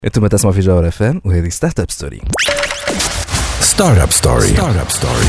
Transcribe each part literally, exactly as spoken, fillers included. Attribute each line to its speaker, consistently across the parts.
Speaker 1: انتم تسمعوا في جوهر اف ام وهذه ستارت اب ستوري.
Speaker 2: ستارت اب ستوري ستارت اب ستوري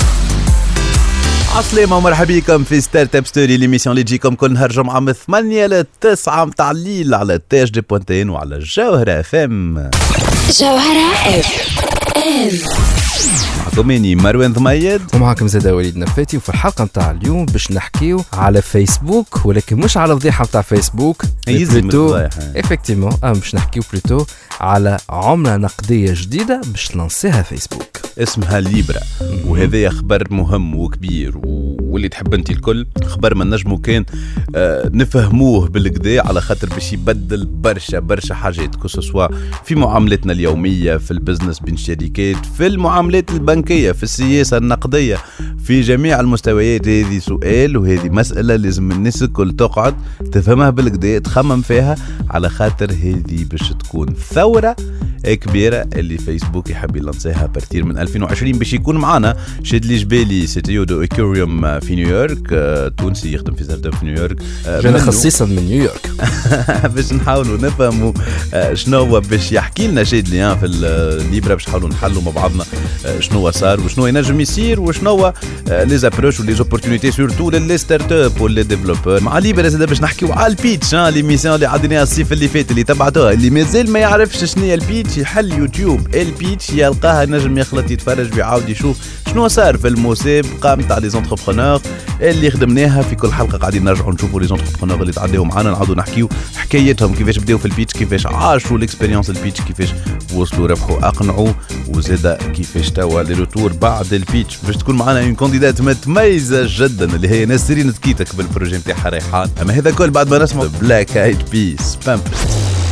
Speaker 3: عسلامة ومرحبا بكم في ستارت اب ستوري، ليميسيون اللي تجيكم كل نهار جمعة من ثمانية لتسعة متاع الليل على تاج دي بوانتين وعلى جوهر اف ام.
Speaker 4: جوهر اف ام
Speaker 3: معكم اني مروان ضميد
Speaker 1: ومعكم زاده وليد نفاتي، وفي الحلقة متاع اليوم باش نحكيو على فيسبوك، ولكن مش على فضيحة متاع فيسبوك
Speaker 3: بلوتو
Speaker 1: افكتيمون ام باش نحكيو بلوتو على عملة نقدية جديدة باش تلانسيها فيسبوك
Speaker 3: اسمها ليبرا. وهذا خبر مهم وكبير واللي تحب انت الكل خبر ما نجمو كان آه نفهموه بالكدا، على خاطر باش يبدل برشا برشا حاجات كسوا في معاملتنا اليومية، في البزنس بين الشركات، في المعاملات البنكية، في السياسة النقدية، في جميع المستويات. هذه سؤال وهذه مسألة لازم الناس الكل تقعد تفهمها بالكدا، تخمم فيها، على خاطر هذه باش تكون ثورة كبيرة اللي فيسبوك يحب يلانسيها بارتير من ألفين وعشرين. باش يكون معنا شادلي جبالي سي تي او دو ايكوريوم في نيويورك، تونسي يخدم في ستارت اب في نيويورك،
Speaker 1: جانا خصيصا من نيويورك
Speaker 3: باش نحاولوا نفهموا شنو هو باش يحكي لنا شادلي في الليبرا، باش نحاولوا نحلوا مع بعضنا شنو صار وشنو ينجم يصير وشنو هو لي زابروش ولي زوبورتونيتي سورتو للي ستارت اب ولي ديفلوبر. مع ليبرا زاد باش نحكيو على البيتش، ليميسيون اللي عديناها الصيف اللي فات اللي تبعتوها، اللي مازال ما يعرفش شنو هي البيتش يحل يوتيوب البيتش يلقاها، نجم يخلط يتفرج ويعاود يشوف شنو صار في المسابقه نتاع لي زونتربرونور اللي خدمناها. في كل حلقه قاعدين نرجعوا نشوفوا لي زونتربرونور اللي تعداو معانا، نعاودوا نحكيو حكايتهم، كيفاش بداو في البيتش، كيفاش عاشوا الاكسبيريونس البيتش، كيفاش وصلوا ربحوا اقنعوا، وزاده كيفاش توا لي روتور بعد البيتش. باش تكون معانا اون كانديدات متميزه جدا اللي هي نسرين تكيتك بالبروجي نتاعها ريحان. اما هذا كل بعد ما نسمع بلاك ايد بيس بامبرز.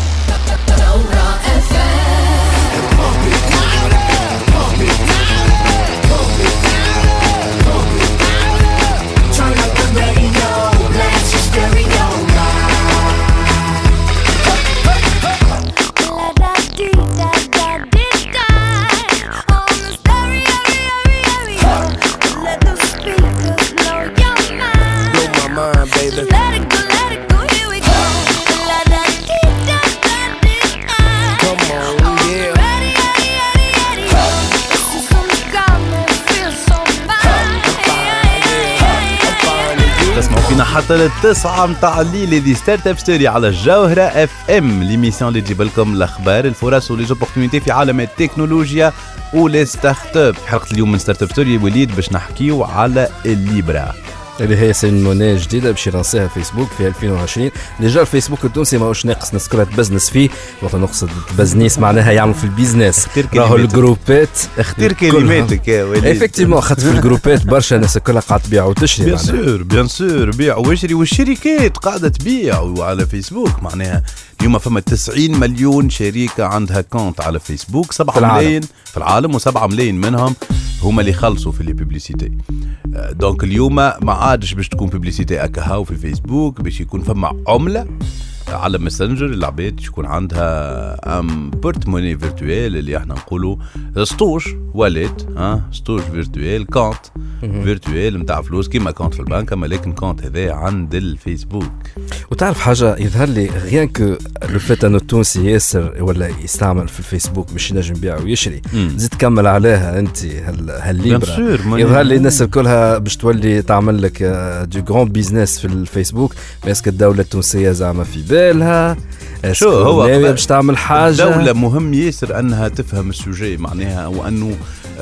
Speaker 3: حتى للتسعة متاع الليل هذه ستارت اب ستوري على الجوهرة اف ام، ليميسيون اللي تجيب لكم الاخبار، الفرص ولي زوبورتونيتي في عالم التكنولوجيا ولي ستارت اب. حلقة اليوم من ستارت اب ستوري وليد باش نحكيو على الليبرا
Speaker 1: اللي هي سين موناي جديده باش يلانسيها فيسبوك في ألفين وعشرين. ديجا الفيسبوك التونسي ماهوش ناقص الناس كلها تبزنس فيه، وقت نقصد بزنيس معناها يعملوا في البيزنس، راهو الجروبات
Speaker 3: اختير كلماتك يا وليد.
Speaker 1: افكتيمون خاطر في الجروبات برشا الناس كلها قاعده تبيع وتشري،
Speaker 3: بيان سور بيان سور بيع واشري، والشركات قاعده تبيع على فيسبوك. معناها اليوم فما تسعين مليون شركه عندها كونت على فيسبوك، سبعة ملايين في العالم وسبعة ملايين منهم هما اللي خلصوا في لي بوبليسيتي. دونك اليوم ما عادش باش تكون بوبليسيتي اكاهاو في فيسبوك، باش يكون فما عمله على ماسنجر العباد يكون عندها ام بورتموني فيرتوال اللي احنا نقولوا سطوش واليت، ها سطوش فيرتوال، كونت فيرتوال نتاع فلوس كيما كونت في البنك، اما لكن كونت هذا عند الفيسبوك.
Speaker 1: وتعرف حاجه يظهر لي غيان كو لو فيت انه التونسي ياسر ولا يستعمل في الفيسبوك باش ينجم يبيع ويشري، زيد كمل عليها انت هالليبرا، يظهر لي الناس كلها باش تولي تعمل لك دو غران بيزنس في الفيسبوك. باسكو الدوله التونسيه زعما في بالها
Speaker 3: شو هو
Speaker 1: باش تعمل حاجه،
Speaker 3: الدوله مهم ياسر انها تفهم السوجي معناها، وانه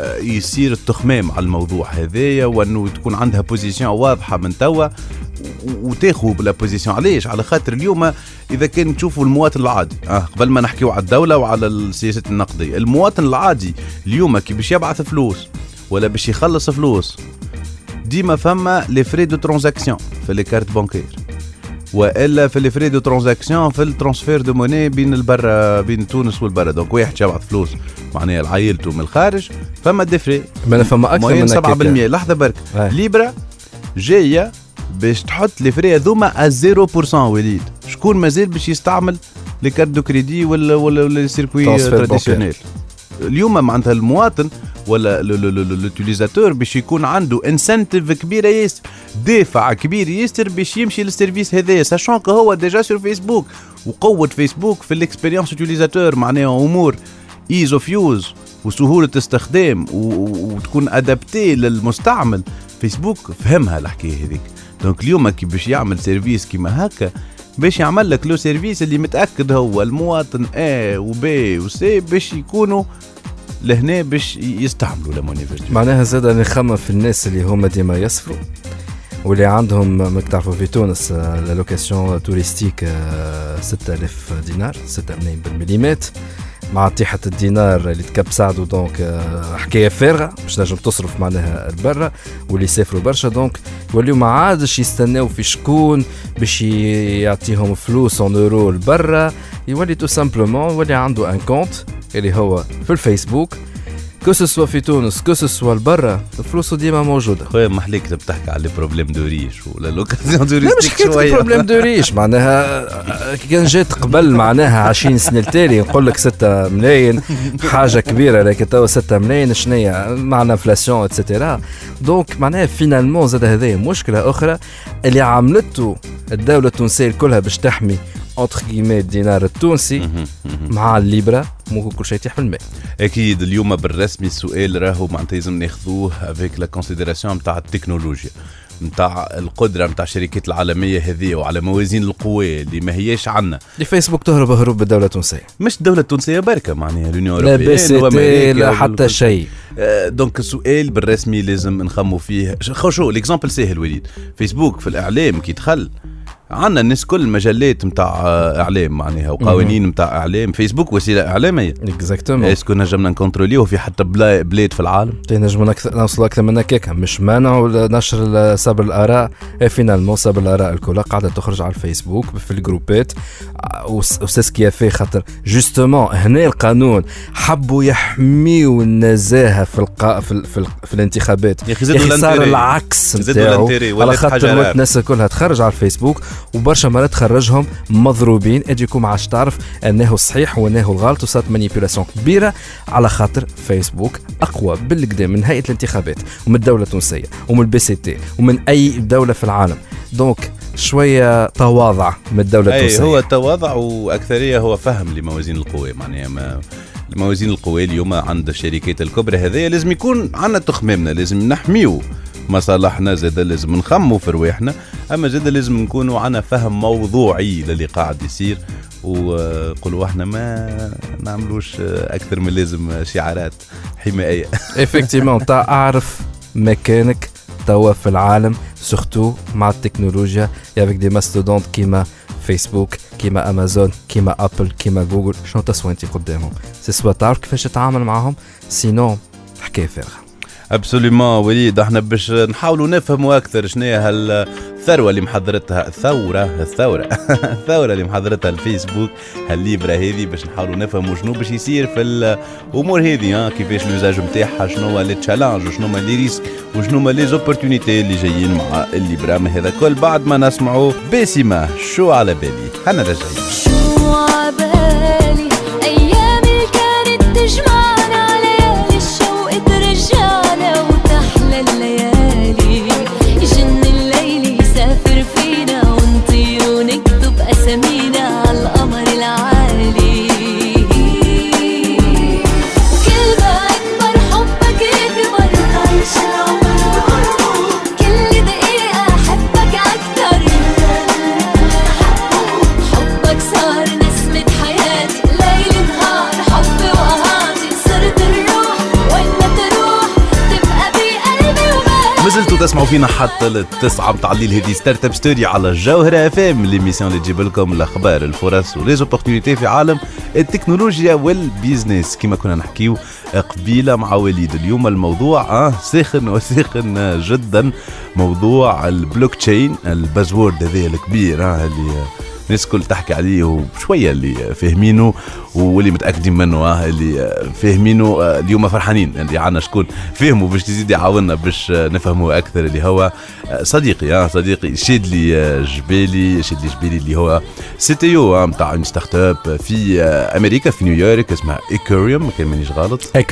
Speaker 3: يصير التخمام على الموضوع هذايا، وانه تكون عندها بوزيشن واضحه من توا وتاخذ بلا بوزيشن. علاش؟ على خاطر اليوم اذا كان تشوفوا المواطن العادي، اه قبل ما نحكيو على الدوله وعلى السياسه النقديه، المواطن العادي اليوم كي باش يبعث فلوس ولا باش يخلص فلوس ديما فما لي فري دو ترانزاكسيون في لي كارت بانكير، والا في لي فري دو ترانزاكسيون في الترانسفير دو موني بين البرا بين تونس والبرا. دونك واحد يبعث فلوس معناها لعائلته من الخارج فما دي فري،
Speaker 1: ما فما اكثر من
Speaker 3: سبعة بالمية. لحظه برك آه. ليبرا جايه باش تحط لي فري هذوما صفر بالمية. وليد شكون مازال باش يستعمل لي كارت دو كريدي ولا ولا لي سيركوي تراديسيونيل؟ اليوم معناتها المواطن ولا لوتيليزاتور باش يكون عنده انسنتيف كبيره ياسر، دافع كبير ياسر باش يمشي للسيرفيس هذايا، ساشون كو هو ديجا سور فيسبوك. وقوه فيسبوك في الاكسبيريونس يوتيليزاتور معناها امور ايز اوف يوز وسهوله استخدام وتكون ادابتي للمستعمل. فيسبوك فهمها الحكايه هذيك. دونك اليوم كي باش يعمل سيرفيس كيما هكا باش يعمل لك لو سيرفيس اللي متاكد هو المواطن A و B و C باش يكونوا لهنا باش يستعملوا لموني فيرتوال.
Speaker 1: معناها زاد نخمم في الناس اللي هما ديما يصفروا واللي عندهم ما تعرفوا في تونس لا لوكاسيون توريستيك ستة آلاف دينار ستة ملايين بالمليمات مع طيحة الدينار اللي تكبسعدوا. دونك حكاية فارغة مش نجم تصرف معناها البرة واللي يسافروا برشا. دونك يوليو ما عادش يستناو في شكون باش يعطيهم فلوس اون اورو البرة، يولي تو سامبلومون يولي عنده ان كونت اللي هو في الفيسبوك كو سوسوا في تونس كو سوسوا البرة الفلوس ديما موجودة.
Speaker 3: خويا محليك تحكي على بروبليم دو ريش ولا لوكازيون دو
Speaker 1: ريش. لا مش حكاية بروبليم دو ريش معناها كان جات قبل معناها عشرين سنة التالي نقول لك ستة ملايين حاجة كبيرة، لكن توا ستة ملايين شنية مع الانفلاسيون اتسيتيرا. دونك معناها فينالمون زاد هذه مشكلة أخرى اللي عملته الدولة التونسية كلها باش تحمي entre guillemets الدينار التونسي مع الليبرا مو كل شيء يطيح بالماء.
Speaker 3: اكيد اليوم بالرسمي السؤال راهو معناتها لازم ناخذوه افيك لا كونسيديراسيون نتاع التكنولوجيا نتاع القدره نتاع الشركات العالميه هذه وعلى موازين القوى اللي ما هياش عندنا.
Speaker 1: الفيسبوك تهرب هروب بالدوله التونسيه،
Speaker 3: مش الدوله التونسيه بركه معناها اليونيون
Speaker 1: لا اوروبيه لا حتى شيء.
Speaker 3: دونك السؤال بالرسمي لازم نخمو فيه. خو شو الاكزامبل سهل وليد، فيسبوك في الاعلام كي دخل عندنا الناس كل المجلات متاع اعلام معناها وقوانين متاع اعلام. فيسبوك وسيله اعلاميه
Speaker 1: اكزاكتومون.
Speaker 3: اسكو نجمنا نكونتروليوه في حتى بلاد في العالم؟
Speaker 1: نجمنا نوصل اكثر من هكاك، مش مانع نشر سبر الاراء. فينالمون سبر الاراء الكل قاعده تخرج على الفيسبوك في الجروبات وساسكيا في خاطر جوستومون هنا القانون حبوا يحميوا النزاهه في القا في, في, في الانتخابات.
Speaker 3: يا اخي
Speaker 1: صار العكس نتاعو على خاطر الناس كلها تخرج على الفيسبوك وبرشا مرات تخرجهم مضروبين. اجيكم عاش تعرف انه صحيح وانه الغلط وصارت مانيبيولاسيون كبيره على خاطر فيسبوك اقوى بالقدام من هيئه الانتخابات ومن الدوله التونسيه ومن البي سي تي ومن اي دوله في العالم. دونك شويه تواضع من الدوله التونسيه.
Speaker 3: هو تواضع واكثريه هو فهم لموازين القوى معناها ما موازين القوى اليوم عند الشركات الكبرى هذه لازم يكون عندنا تخمامنا، لازم نحميو مصالحنا، زاد لازم نخمو في رواحنا، اما زاد لازم نكونوا عنا فهم موضوعي للي قاعد يصير وقولوا احنا ما نعملوش اكثر من لازم شعارات حمائيه.
Speaker 1: افكتيمون تاع اعرف مكانك توا في العالم سورتو مع التكنولوجيا افيك دي ماستودونت كيما فيسبوك كيما امازون كيما ابل كيما جوجل. شنو تسوى انت قدامهم؟ سي سوا تعرف كيفاش تتعامل معهم، سينو حكايه فارغه.
Speaker 3: ابسوليومون وليد، احنا باش نحاولوا نفهموا اكثر شنو هي هالثروه اللي محضرتها الثوره الثوره الثوره اللي محضرتها الفيسبوك هالليبرا هذه، باش نحاولوا نفهموا شنو باش يصير في الامور هذه، ها كيفاش اليوزاج نتاعها، شنو هو لي تشالنج وشنو هما لي ريسك وشنو هما لي زوبورتونيتي اللي جايين مع الليبرا. ما هذا كل بعد ما نسمعوا باسمه شو على بالي. انا راجعين
Speaker 5: شو على بالي ايام اللي كانت تجمعنا ليالي الشوق ترجعنا وتحلى الليالي يجن الليل يسافر فينا ونطير ونكتب اسامينا على القمر العالي. كل ما اكبر حبك يكبر عايش العمر كل دقيقة احبك اكتر حبك صار نسمة حياتي ليل نهار حب وقهاتي صرت الروح ولا تروح تبقى بقلبي وبالي.
Speaker 3: مازلتوا تسمعوا فينا حتى التسعة متاع الليل. هذه ستارت اب ستوري على الجوهرة اف ام، ليميسيون اللي تجيب لكم الاخبار الفرص وليزوبورتونيتي في عالم التكنولوجيا والبيزنس. كما كنا نحكيو قبيله مع وليد، اليوم الموضوع اه ساخن وساخن جدا، موضوع البلوك تشين البازورد هذا الكبير اه اللي الناس كل تحكي عليه وشويه اللي فاهمينه واللي متاكدين منه اه اللي فاهمينه اليوم فرحانين اللي عنا شكون فهموا باش تزيد يعاوننا باش نفهموا اكثر، اللي هو صديقي اه صديقي شادلي جبالي شادلي جبالي اللي هو سي تي او نتاع ستارت اب في امريكا في نيويورك اسمها ايكوريوم، ما كان مانيش غلط.
Speaker 6: ايكوريوم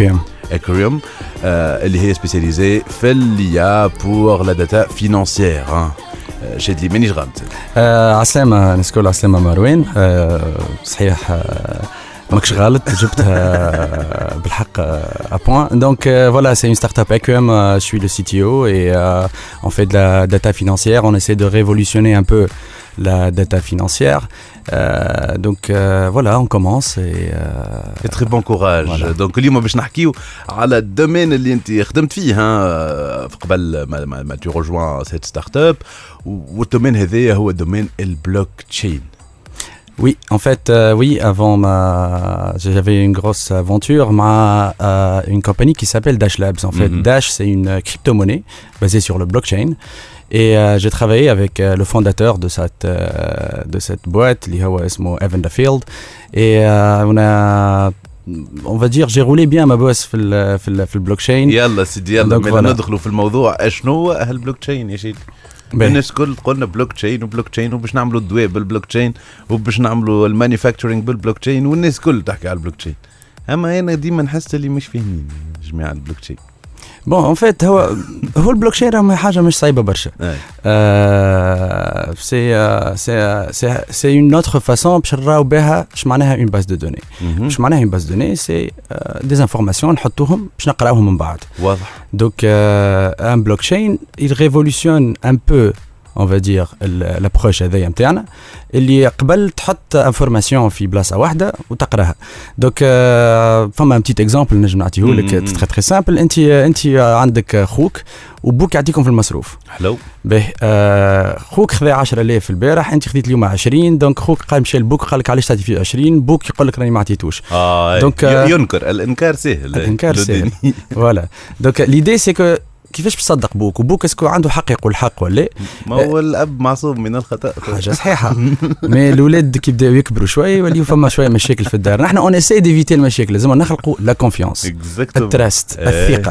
Speaker 3: Ethereum اللي هي سبيسياليزي في l'I A pour la data financière. شد لي مانيش غلط.
Speaker 6: عسلامة نسكول عسلامة مروان. صحيح ماكش غلط جبتها بالحق à point. Donc euh, voilà, c'est une startup Equum, euh, je suis le C T O et euh, on fait de la data financière, on essaie de révolutionner un peu la data financière. Euh, donc euh, voilà, on commence et
Speaker 3: euh, très bon courage. Voilà. Donc اليوم باش نحكيو على الدومين اللي انت خدمت فيه ها قبل ما, ما, ما tu rejoins cette startup والدومين هذا هو دومين البلوك تشين.
Speaker 6: Oui, en fait, euh, oui, avant ma, j'avais une grosse aventure, ma, euh, une compagnie qui s'appelle Dash Labs. En fait, mm-hmm. Dash, c'est une crypto-monnaie basée sur le blockchain. Et euh, j'ai travaillé avec euh, le fondateur de cette, euh, de cette boîte, l'Ihawa Evan Dafield. Et euh, on a, on va dire, j'ai roulé bien ma bosse في ال, في ال, في البلوكشين.
Speaker 3: يلا سيدي يلا من ندخلوا في الموضوع. شنو هالبلوكشين يا شيخ؟ الناس كل قلنا بلوك تشين وبلوك تشين وباش نعملوا الدواء بالبلوك تشين وباش نعملوا المانيفاكتورينج بالبلوك تشين والناس كل تحكي على البلوك تشين. اما انا ديما نحس اللي مش فاهمين جماعه البلوك تشين.
Speaker 6: بون ان فيت هو هو البلوكشين راه حاجه مش صعيبه برشا. سي سي سي سي اون اوتر فاسون باش نراو بها اش معناها اون باز دو دوني. اش معناها اون باز دو دوني سي دي انفورماسيون نحطوهم باش نقراوهم من بعد.
Speaker 3: واضح.
Speaker 6: دونك ان بلوكشين il révolutionne un peu on va dire l'approche هذيا نتاعنا اللي قبل تحط انفورماسيون في بلاصه واحده وتقراها. دونك فما ان بتيت اكزامبل نجم نعطيه لك تري تري سامبل. انت انت عندك خوك وبوك يعطيكم في المصروف.
Speaker 3: حلو.
Speaker 6: باهي آه خوك خذا عشرة آلاف البارح، انت خذيت اليوم عشرين. دونك خوك قال مشى البوك قال لك علاش تعطي فيه عشرين؟ بوك يقول لك راني ما عطيتوش.
Speaker 3: اه دونك ينكر. الانكار سهل.
Speaker 6: الانكار سهل. فوالا. دونك ليدي سي كو كيفاش بصدق بوك وبوك اسكو عنده حق يقول حق ولا
Speaker 3: ما هو الاب معصوم من الخطا.
Speaker 6: حاجه صحيحه. مي الاولاد كي يبداو يكبروا شويه يوليو فما شويه مشاكل في الدار. نحن اون اساي ديفيتي المشاكل، لازم نخلقوا لا كونفيونس التراست الثقه.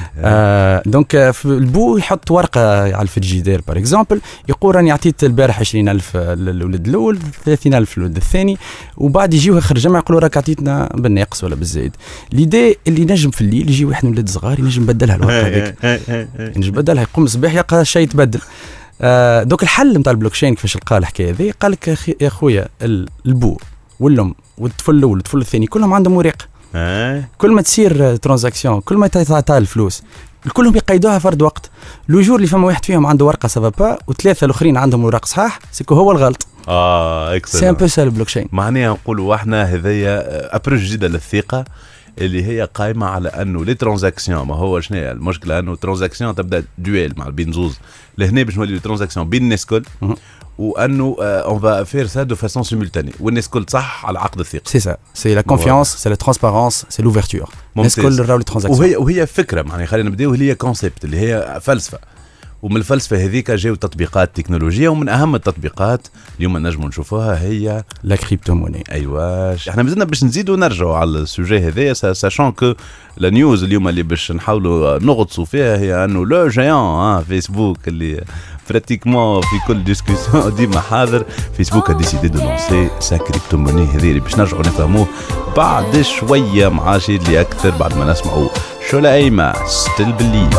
Speaker 6: آه دونك البو يحط ورقه على الفريجيدير بار اكزومبل يقول راني عطيت البارح عشرين ألف للولد الاول، ثلاثين ألف للولد الثاني، وبعد يجيو اخر جمعه يقولوا راك عطيتنا بالناقص ولا بالزايد. ليدي اللي نجم في الليل يجي واحد من الولاد صغار ينجم يبدلها الورقه هذيك، ينجم يبدلها، يقوم الصباح يلقى شيء يتبدل. آه دوك الحل نتاع البلوكشين كيفاش لقى الحكايه هذه؟ قال لك يا خويا البو والام والطفل الاول والطفل الثاني كلهم عندهم ورق. كل ما تصير ترانزاكسيون كل ما تعطى الفلوس كلهم يقيدوها فرد وقت. لو جور اللي فما واحد فيهم عنده ورقه سافا با وثلاثه الاخرين عندهم ورق صحاح سيكو هو الغلط.
Speaker 3: اه اكسلنت.
Speaker 6: سي ان بو سا البلوكشين.
Speaker 3: معناها نقولوا احنا هذيا ابروش جديده للثقه اللي هي قائمه على انه لي ترانزاكسيون ما هو شنو المشكله؟ انه ترانزاكسيون تبدا دويل مع بين زوز لهنا باش نولي ترانزاكسيون بين الناس الكل، وانه اون فا فير سا دو فاسون سيمولتاني والناس الكل صح على عقد الثقه.
Speaker 6: سي سا سي لا كونفيونس سي لا ترانسبارونس سي لوفرتور. الناس الكل راهو لي ترانزاكسيون
Speaker 3: وهي وهي فكره معناها خلينا نبداو اللي هي كونسيبت اللي هي فلسفه، ومن الفلسفه هذيك جاو تطبيقات تكنولوجيه، ومن اهم التطبيقات اليوم نجموا نشوفوها هي
Speaker 6: لا كريبتو موني.
Speaker 3: ايوا احنا مازلنا باش نزيدوا نرجعوا على السوجي هذايا ساشون كو لا نيوز اليوم اللي باش نحاولوا نغطسوا فيها هي انه لو جيان فيسبوك اللي براتيكمون في كل ديسكوسيون ديما حاضر. فيسبوك ا ديسيدي دو لونسي سا كريبتو موني هذه اللي باش نرجعوا نفهموه بعد شويه مع شيء اللي اكثر بعد ما نسمعوا شولا ايما ستيل بليف.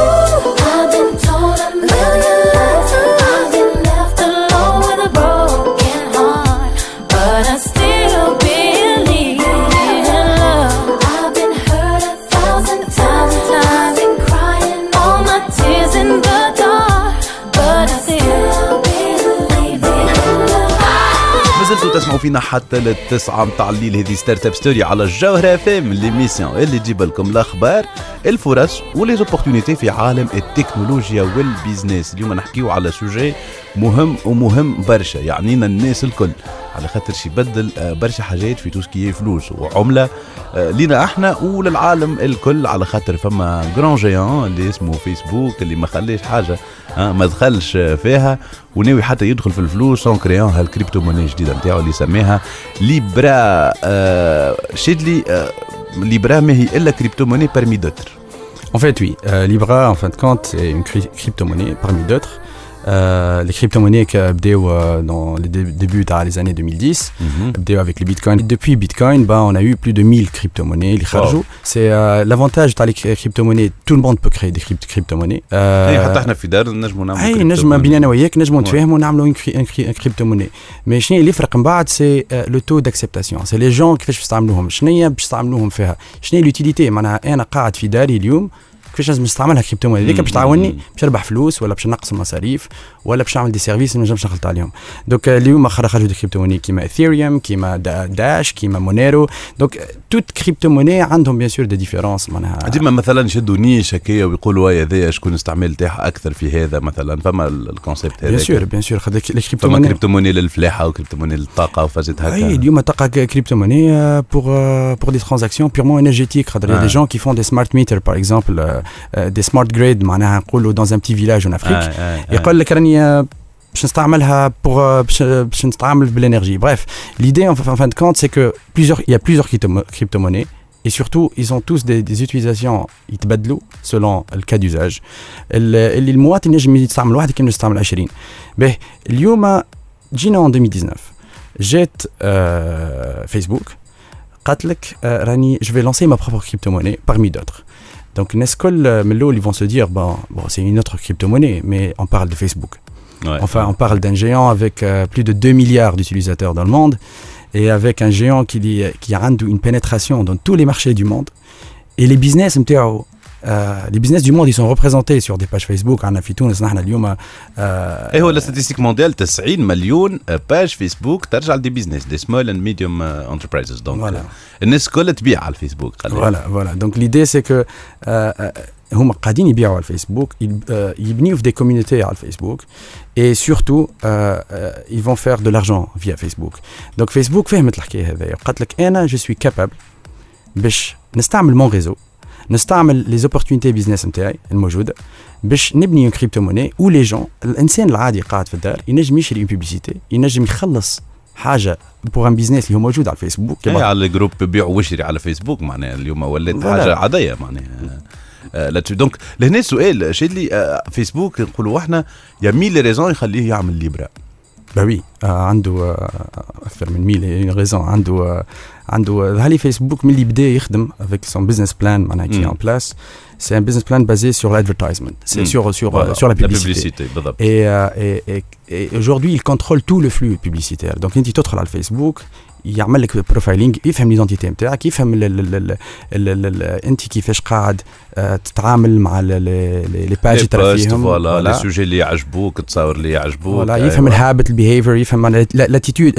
Speaker 3: تسمعوا فينا حتى للتسعة متاع الليل. هذه ستارت اب ستوري على الجوهرة فام ليميسيون اللي تجيب لكم الاخبار الفرص ولي زوبورتونيتي في عالم التكنولوجيا والبيزنس. اليوم نحكيو على سوجي مهم ومهم برشا يعنينا الناس الكل، على خاطر شي بدل برشا حاجات في توسكي فلوس وعملة لينا احنا وللعالم الكل، على خاطر فما جران جيان اللي اسمه فيسبوك اللي ما خليش حاجة ما دخلش فيها وناوي حتى يدخل في الفلوس سون كريون هالكريبتو موني جديدة نتاعو اللي سماها ليبرا. آه شدلي آه ليبرا ما هي إلا كريبتو موني parmi d'autres.
Speaker 6: En fait oui, euh, Libra en fin de compte est une crypto-monnaie parmi d'autres. Euh, les crypto-monnaies qui بداو dans les débuts à les années deux mille dix, mm-hmm. بداو avec le Bitcoin. Et depuis Bitcoin, bah, on a eu plus de mille crypto-monnaies. Wow. C'est euh, l'avantage de les crypto-monnaies. Tout le monde peut créer des crypt- crypto-monnaies.
Speaker 3: أي حتى إحنا في دار نجمو نعملوا.
Speaker 6: أي نجم بيننا أنا وياك نجمو نتفاهموا ونعملوا une crypto-monnaie. Mais شنو اللي يفرق من بعد c'est le taux d'acceptation. C'est les gens كيفاش بيستعملوهم. شنو هي باش يستعملوهم فيها. شنو هي l'utilité. معناها أنا قاعد في داري اليوم. كيفاش لازم نستعملها كريبتوموني هذيك باش تعاوني باش نربح فلوس ولا باش نقص المصاريف ولا باش نعمل دي سيرفيس ما نجمش نخلط عليهم. دونك اليوم خرجوا دي كريبتوموني كيما اثيريوم كيما داش كيما مونيرو. دونك توت كريبتوموني عندهم بيان سور دي ديفيرونس معناها
Speaker 3: ديما مثلا يشدوا نيش هكايا ويقولوا هيا هذا شكون استعمال تاعها اكثر في هذا مثلا فما الكونسيبت هذا.
Speaker 6: بيان سور بيان سور خدك
Speaker 3: الكريبتوموني كريبتوموني للفلاحه وكريبتوموني للطاقه وفازت هكا.
Speaker 6: اي اليوم طاقه كريبتوموني بور بور دي ترانزاكسيون بيرمون انرجيتيك. خاطر دي جون كي فون دي سمارت ميتر باغ اكزومبل دي سمارت جريد معناها نقولوا dans un petit village en Afrique يقول لك راني باش نستعملها بور باش نستعمل بالانرجي. Bref, l'idée en fin de compte c'est que plusieurs il y a plusieurs crypto-monnaies et surtout ils ont tous des, des utilisations يتبدلوا selon le cas d'usage. اللي المواطن ينجم يستعمل واحد كيما يستعمل عشرين. به اليوم جينا en deux mille dix-neuf جات فيسبوك قالت لك راني je vais lancer ma propre crypto-monnaie parmi d'autres. Donc, Nescol, Mello, ils vont se dire, bon, bon, c'est une autre crypto-monnaie, mais on parle de Facebook. Ouais, enfin, ouais. On parle d'un géant avec euh, plus de deux milliards d'utilisateurs dans le monde et avec un géant qui, qui a une pénétration dans tous les marchés du monde. Et les business, euh, les business du monde, ils sont représentés sur des pages Facebook. On a fait tout, on a اليوم.
Speaker 3: Et هو la statistique mondiale, تسعين مليون page Facebook ترجع لدي business, des small and medium enterprises. Donc, voilà. الناس كلها تبيع على الفيسبوك.
Speaker 6: Voilà, voilà. Donc l'idée c'est que هم قاعدين يبيعوا على الفيسبوك, يبنيوا في des communautés على الفيسبوك et surtout ils vont faire de l'argent via Facebook. Donc Facebook فهمت الحكاية هذه. قالت لك أنا je suis capable باش نستعمل mon réseau. نستعمل les opportunités business نتاعي الموجودة باش نبني une crypto-monnaie où les gens الإنسان العادي قاعد في الدار ينجم يشري une publicité ينجم يخلص حاجة بور ان بيزنس اللي هو موجود على الفيسبوك.
Speaker 3: اي على الجروب بيع وشري على فيسبوك معناها اليوم ولات حاجة عادية معناها. لا دونك لهنا السؤال شي اللي فيسبوك نقولوا احنا يا ميل ريزون يخليه يعمل ليبرا.
Speaker 6: bah oui euh, عنده اكثر من ميل ريزون. عنده عنده هالي فيسبوك من اللي بدا يخدم avec son business plan معناها qui est en place. C'est un business plan basé sur l'advertisement, c'est mm. sur sur voilà, sur la publicité. La publicité et, euh, et, et, et aujourd'hui il contrôle tout le flux publicitaire. Donc انت تدخل على الفيسبوك يعمل لك بروفايلينغ يفهم ليدونتيتي نتاعك يفهم انت كيفاش قاعد تتعامل مع لي باج تاع فيهم
Speaker 3: ولا لي سوجي اللي يعجبوك التصاور اللي يعجبوك
Speaker 6: ولا يفهم الهابت البيهيفير يفهم لاتيتود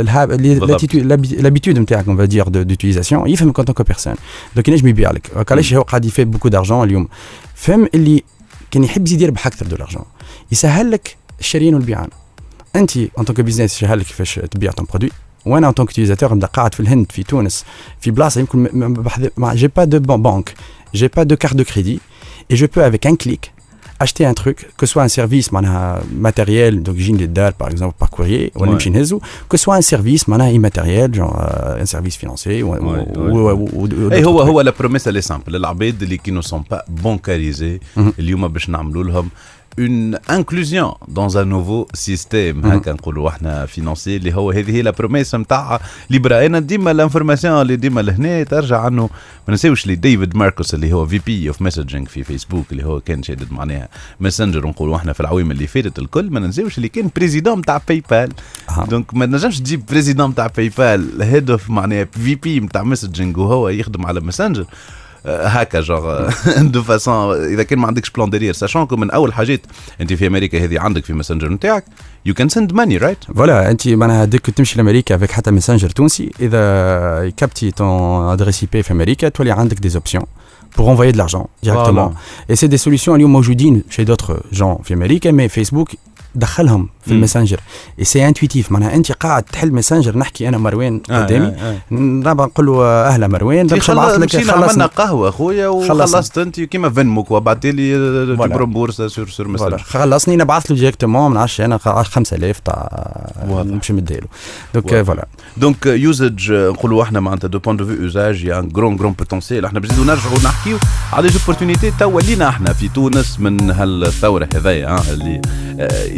Speaker 6: لابيتود نتاعك اون فادير دوتيليزاسيون يفهم كونتون كو بيرسون. دونك ينجم يبيع لك علاش هو قاعد يفيد بوكو دارجون اليوم. فهم اللي كان يحب يزيد يربح اكثر دو لارجون يسهل لك الشريان والبيعان. انت ان طونك بيزنس يسهل لك كيفاش تبيع ton برودوي. وانا ان طونك utilisateur نبدا قاعد في الهند في تونس في بلاصه يمكن j'ai pas de banque, j'ai pas de carte de crédit et je peux avec un clic acheter un truc, que ce soit un service معناها matériel d'origine des dates par exemple par courrier ou نمشي نهزو, que ce soit un service معناها immatériel genre un service financier ou
Speaker 3: اي هو هو لا بروميس لي سامبل العباد اللي كي نو سون با بانكاريزي اليوم باش نعملوا لهم une inclusion dans un nouveau système هكا نقولوا احنا فينانسي اللي هو هذه هي لا بروميس نتاع ليبرا. انا ديما الانفورماسيون اللي ديما لهنا ترجع عنه ما نساوش لي ديفيد ماركوس اللي هو في بي اوف ميسجينج في فيسبوك اللي هو كان شادد معناها ماسنجر نقولوا احنا في العوام اللي فاتت الكل ما نساوش اللي كان بريزيدون نتاع باي بال. دونك ما نجمش تجيب بريزيدون نتاع باي بال هيد اوف معناها في بي نتاع ميسجينج وهو يخدم على ماسنجر هكا جوغ دو فاسون. اذا كان ما عندكش بلان ديرير ساشونكم من اول حاجات انت في امريكا هذه عندك في ماسنجر نتاعك يو كان سند ماني رايت
Speaker 6: فوالا. انت معناها ديك تمشي لامريكا افيك حتى ماسنجر تونسي اذا يكابتي طون ادريس اي بي في امريكا تولي عندك دي اوبسيون pour envoyer de l'argent directement. Voilà. Et c'est des solutions اليوم موجودين chez d'autres gens في امريكا mais فيسبوك دخلهم في الماسنجر اي سي انتويتيف. معناها انت قاعد تحل ماسنجر نحكي انا مروان قدامي آه آه آه. نبغى نقول له اهلا مروان باش نبعث لك
Speaker 3: خلصنا قهوه اخويا وخلصت انت كيما فنمك وبعث لي برومبورس سور سور ماسنجر خلصني
Speaker 6: نبعث له ديريكتومون من عشرة انا خمسة آلاف تاع نمشي مديلو. دونك فوالا
Speaker 3: دونك يوزج نقولوا احنا معناتها دو بوين دو في يوزاج يا غرون غرون بوتنسيال. احنا بنزيدوا نرجعوا نحكيو على لي اوبورتونيتي توا لينا احنا في تونس من هالثوره هذيا اللي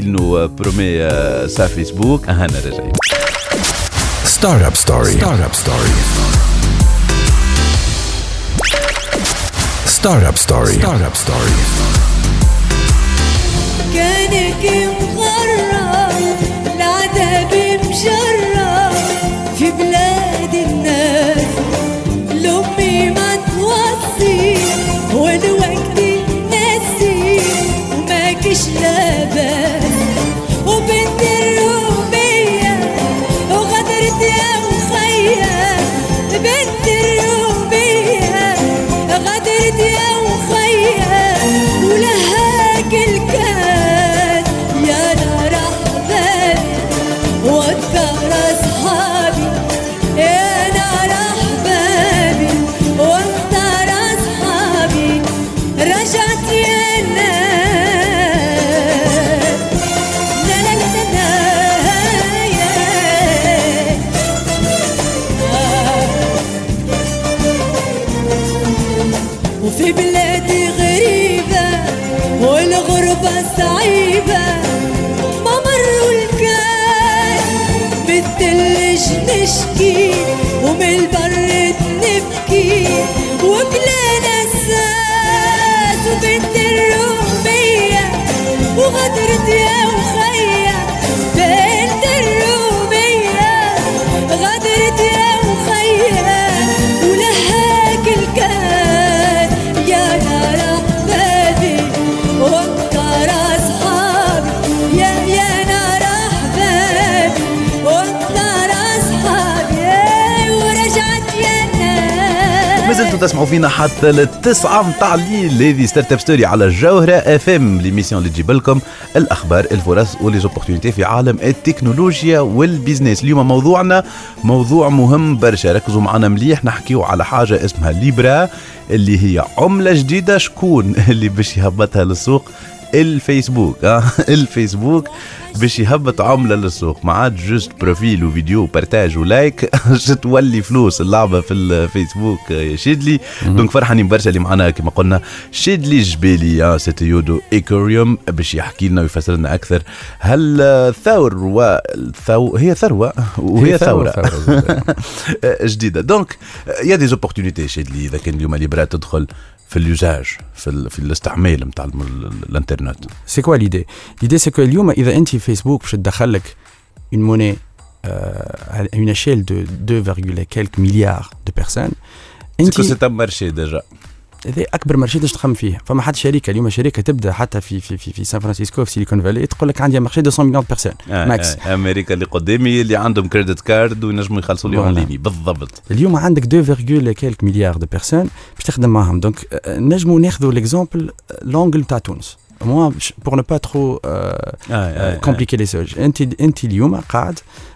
Speaker 3: il nous promet sa Facebook. أهنا رجعي.
Speaker 2: Startup Story. Startup Story. Startup Story. Startup Story.
Speaker 5: كانك مغرب العذاب مجرب في بلاد الناس لأمي ما توصي والوقت ناسي وما كش لاباس وبنت الرومية وغدرت يا وخيا بنت الرومية غدرت يا وخيا ولها كل كان يا نار أحبابي وأكثر أصحابي يا نار أحبابي وأكثر أصحابي رجعت يا ناس لا لا لا لا يا وفي بلادي غريبة والغربة صعيبة ما مروا الكاس بالثلج نشكي ومن البرد نبكي وكلنا الساس وبنت الرومية وغدرت يا وخيا بنت الرومية غدرت يا وخيا ولها كل كان يا نار أحبابي وأكثر أصحابي يا يا نار أحبابي وأكثر أصحابي ورجعت يا ناس.
Speaker 3: ما زلتوا تسمعوا فينا حتى للتسعة متاع الليل. هذه ستارت اب ستوري على الجوهرة اف ام، ليميسيون اللي تجيب لكم الاخبار الفرص وليزوبورتينيتي في عالم التكنولوجيا والبيزنس. اليوم موضوعنا موضوع مهم برشا، ركزوا معنا مليح. نحكيو على حاجة اسمها ليبرا اللي هي عملة جديدة. شكون اللي باش يهبطها للسوق؟ الفيسبوك. اه الفيسبوك باش يهبط عمله للسوق، ما عاد جوست بروفيل وفيديو وبارتاج ولايك تولي فلوس اللعبه في الفيسبوك يا شيدلي. دونك فرحانين برشا اللي معنا كما قلنا شيدلي جبالي اه سيتيودو ايكوريوم باش يحكي لنا ويفسر لنا اكثر. هل الثور والثو هي ثروه وهي ثوره جديده. دونك يا دي زوبورتونيتي شيدلي اذا كان اليوم ليبرا تدخل في اليوزاج في في الاستعمال نتاع الانترنت.
Speaker 6: سي كوا ليدي؟ ليدي سي كو اليوم اذا انت فيسبوك باش تدخل لك اون موني à une échelle de deux virgule quelques milliards de personnes.
Speaker 3: انت سي تم مارشي ديجا،
Speaker 6: هذا اكبر مارشي باش تخمم فيه. فما حد شركه اليوم شركه تبدا حتى في في في, في سان فرانسيسكو في سيليكون فالي تقول لك عندي مارشي مئتين مليون بيرسون
Speaker 3: آه
Speaker 6: ماكس.
Speaker 3: آه امريكا اللي قدامي اللي عندهم كريدت كارد وينجموا يخلصوا لي اون ليني بالضبط.
Speaker 6: اليوم عندك deux virgule quelques milliards de personnes باش تخدم معهم. دونك نجموا ناخذوا ليكزامبل لونجل تاع تونس. moi pour ne pas trop euh,
Speaker 3: آه آه
Speaker 6: compliquer les choses. انت انت اليوم قاعد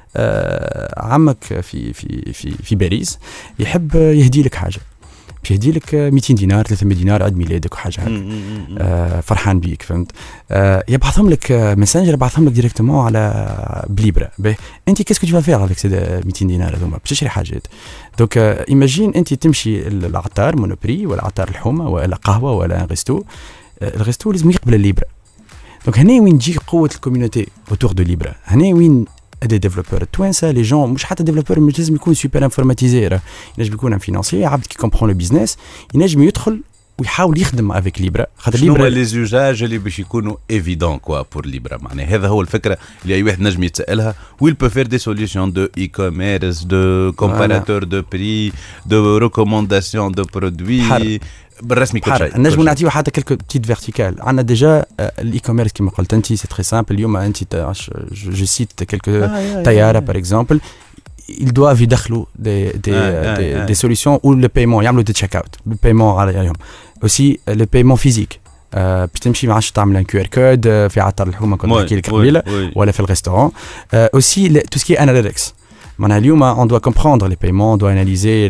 Speaker 6: آه عمك في في في في باريس يحب يهدي لك حاجه، يهدي لك مئتين دينار ثلاثمية دينار عيد ميلادك وحاجه هكا. آه فرحان بيك فهمت. آه يبعثهم لك ماسنجر يبعثهم لك ديريكتومون على بليبرا. انت كيسكو تو فيغ افيك سي مئتين دينار هذوما باش تشري حاجات. دونك ايماجين انت تمشي للعطار مونوبري ولا عطار الحومه ولا قهوه ولا ريستو. الريستو لازم يقبل الليبرا. دونك هنا وين تجي قوه الكوميونيتي اوتور دو ليبرا. هنا وين des développeurs التوانسه لي جون مش حتى ديفلوبور مش لازم يكون سوبر انفورماتيزي، ينجم يكون ان فينانسيي عبد كي كومبرون لو بيزنس ينجم يدخل ويحاول يخدم افيك ليبرا. خاطر
Speaker 3: ليبرا شنو لي زوجاج اللي باش يكونوا ايفيدون كوا بور ليبرا. معناها هذا هو الفكره اللي اي واحد نجم يتسالها. ويل بو فير دي سوليوشن دو اي كوميرس دو كومباراتور دو بري دو ريكومونداسيون دو برودوي بالرسمي كل شيء.
Speaker 6: نجموا نعطيو حتى كلكو بتيت فيرتيكال. عندنا ديجا الاي كوميرس كما قلت انت سي تري سامبل. اليوم انت جو سيت كلكو طياره باغ اكزومبل ils doivent يدخلوا des des
Speaker 3: ah,
Speaker 6: des,
Speaker 3: ah, ah.
Speaker 6: des solutions où le paiement يعملوا دي تشيك اوت بالبايمون عليهم. aussi le paiement physique باش تمشي ما عادش تعمل ان كيو ار كود في عطر الحومه كنت نحكي لك قبيله ولا في الريستورون. aussi tout ce qui est analytics. معناها اليوم on doit comprendre les paiements, on doit analyser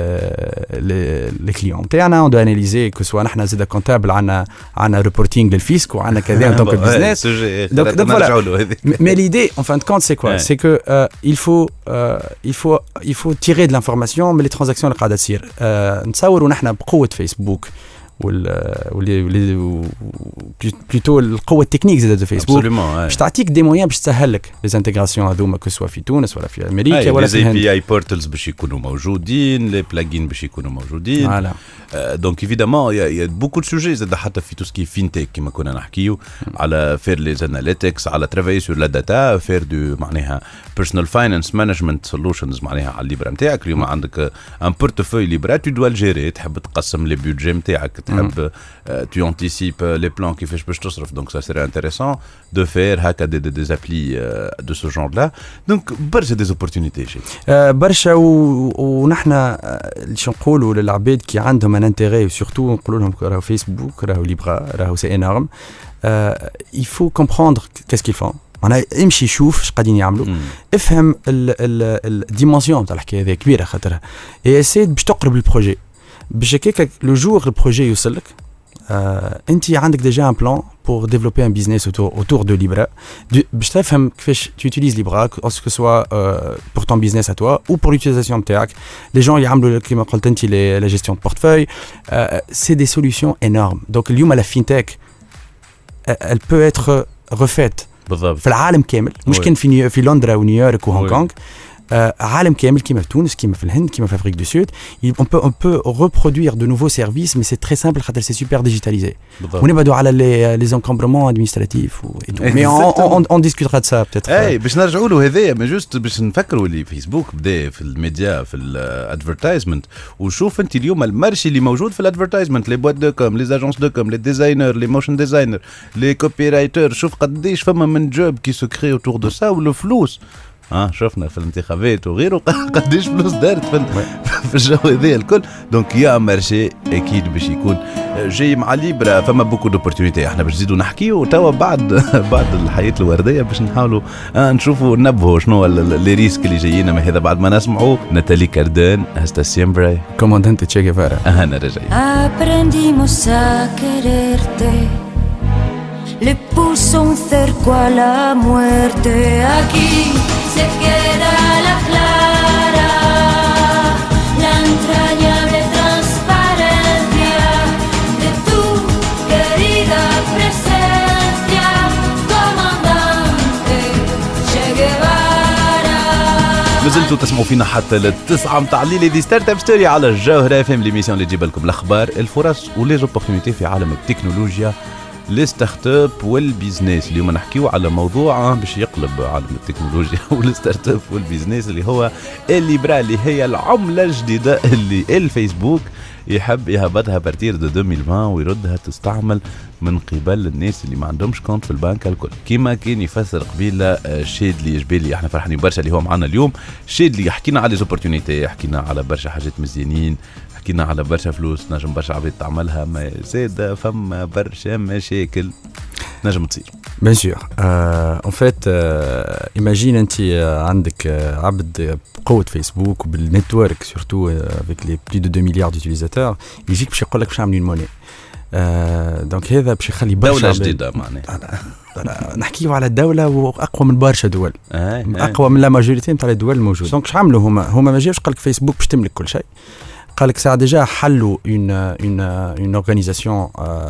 Speaker 6: les clients تاعنا, on doit analyser que soit نحن زيد كونتابل عندنا عندنا reporting للفيسك وعندنا كذا دونك البيزنس. donc donc voilà. mais l'idée en fin de compte c'est quoi? c'est que euh, il faut euh, il faut il faut tirer de l'information من les transactions اللي قاعده تصير. نتصوروا نحن بقوه فيسبوك وال بلوتو القوه التكنيك زاد دو فيسبوك باش تعطيك دي مويان باش تسهل لك لي انتغراسيون هذوما كو سوا في تونس ولا في امريكا ولا في
Speaker 3: الهند. لي اي بي اي بورتالز باش يكونوا موجودين، لي بلاجين باش يكونوا موجودين. فوالا دونك ايفيدامون يا بوكو دو سوجي زاد حتى في توسكي فينتك كما كنا نحكيو على فير لي اناليتكس، على ترافاي سور لا داتا، فير دو معناها بيرسونال فاينانس مانجمنت سولوشنز معناها على الليبرا نتاعك. اليوم عندك ان بورتفوي ليبرا تو دوا الجيري، تحب تقسم لي بيدجي نتاعك، تحب tu anticipes les plans qui fait je peux te donc ça serait intéressant de faire هكا des, des, des applis de ce genre là. donc برشا des opportunités شيء
Speaker 6: برشا ونحن اللي نقولوا للعباد كي عندهم ان انتيري سورتو نقولوا لهم راهو فيسبوك راهو ليبرا راهو سي انورم il faut comprendre qu'est-ce qu'ils font. معناها امشي شوف اش قاعدين يعملوا، افهم الديمونسيون تاع الحكايه هذه كبيره خاطرها اي اسيد باش تقرب البروجي باش هكاك لو جور البروجي يوصلك. Euh, انت عندك déjà un plan pour développer un business autour autour de Libra. باش تفهم كيفاش tu utilises Libra que ce soit euh, pour ton business à toi ou pour l'utilisation نتاعك. les gens يعملوا كيما قلت انت la gestion de portefeuille. euh, c'est des solutions énormes. donc اليوم la fintech elle peut être refaite بالضبط في العالم كامل، مش كان في في لندن ونيويورك وهونغ كونغ. Euh, عالم كامل كيما في تونس كيما في الهند كيما في افريك دو سود. on peut on peut reproduire de nouveaux services mais c'est très simple خاطر c'est super digitalisé. ونبعدوا على les les encombrements administratifs et tout. mais on, on on discutera de ça peut-être.
Speaker 3: اي باش نرجعوا له هذايا ما جوست باش نفكروا اللي فيسبوك بدا في الميديا في الادفيرتايزمنت. وشوف انت اليوم المارشي اللي موجود في الادفيرتايزمنت، لي بوات دو كوم، لي اجونس دو كوم، لي ديزاينر، لي موشن ديزاينر، لي كوبي رايتر. شوف قديش فما من جوب كي سو كري اوتور دو سا. والفلوس اه شفنا في الانتخابات وغيره قديش فلوس دارت في في الجو هذا الكل. دونك يا مارشي اكيد باش يكون جاي مع ليبرا. فما بوكو دوبورتونيتي. احنا باش نزيدوا نحكيو توا بعد بعد الحياه الورديه باش نحاولوا آه نشوفوا نبهوا شنو لي ريسك اللي جايين. ما هذا بعد ما نسمعوا ناتالي كاردان هستا سيمبري
Speaker 6: كوماندانت تشي جيفارا.
Speaker 3: انا رجعي.
Speaker 5: Aprendimos a quererte, le puso un cerco a la muerte. Aquí se queda la clara, la entrañable transparencia de tu querida presencia, comandante Che Guevara.
Speaker 3: مازلتوا تسمعوا فينا حتى للتسعة متاع الليل دي ستارت اب ستوري على الجوهرة اف ام، ليميسيون اللي تجيب لكم الاخبار، الفرص ولي زوبورتونيتي في عالم التكنولوجيا، لي ستارت اب والبيزنس. اليوم نحكيو على موضوع باش يقلب عالم التكنولوجيا والستارت اب والبيزنس اللي هو الليبرا، اللي هي العملة الجديدة اللي الفيسبوك يحب يهبطها بارتير دو ألفين وعشرين ويردها تستعمل من قبل الناس اللي ما عندهمش كونت في البنك الكل. كيما كان يفسر قبيله شادلي جبالي، احنا فرحانين برشا اللي هو معنا اليوم. شادلي يحكينا على ليزوبورتونيتي، يحكينا على برشا حاجات مزيانين، حكينا على برشا فلوس نجم برشا عباد تعملها، ما زاد فما برشا مشاكل نجم تصير.
Speaker 6: بيان سور. ان فيت ايماجين انت عندك عبد بقوه فيسبوك وبالنتورك سورتو افيك لي بلي دو deux مليار ديوتيليزاتور، يجيك باش يقول لك باش نعمل موني. دونك هذا باش يخلي برشا
Speaker 3: دوله جديده معناها.
Speaker 6: نحكيو على الدوله واقوى من برشا دول، اقوى من لا ماجوريتي نتاع الدول الموجوده. دونك اش عملوا هما هما ما جاوش قال لك فيسبوك باش تملك كل شيء. قال لك ساعه ديجا حلوا اون اون اون اورغانيزاسيون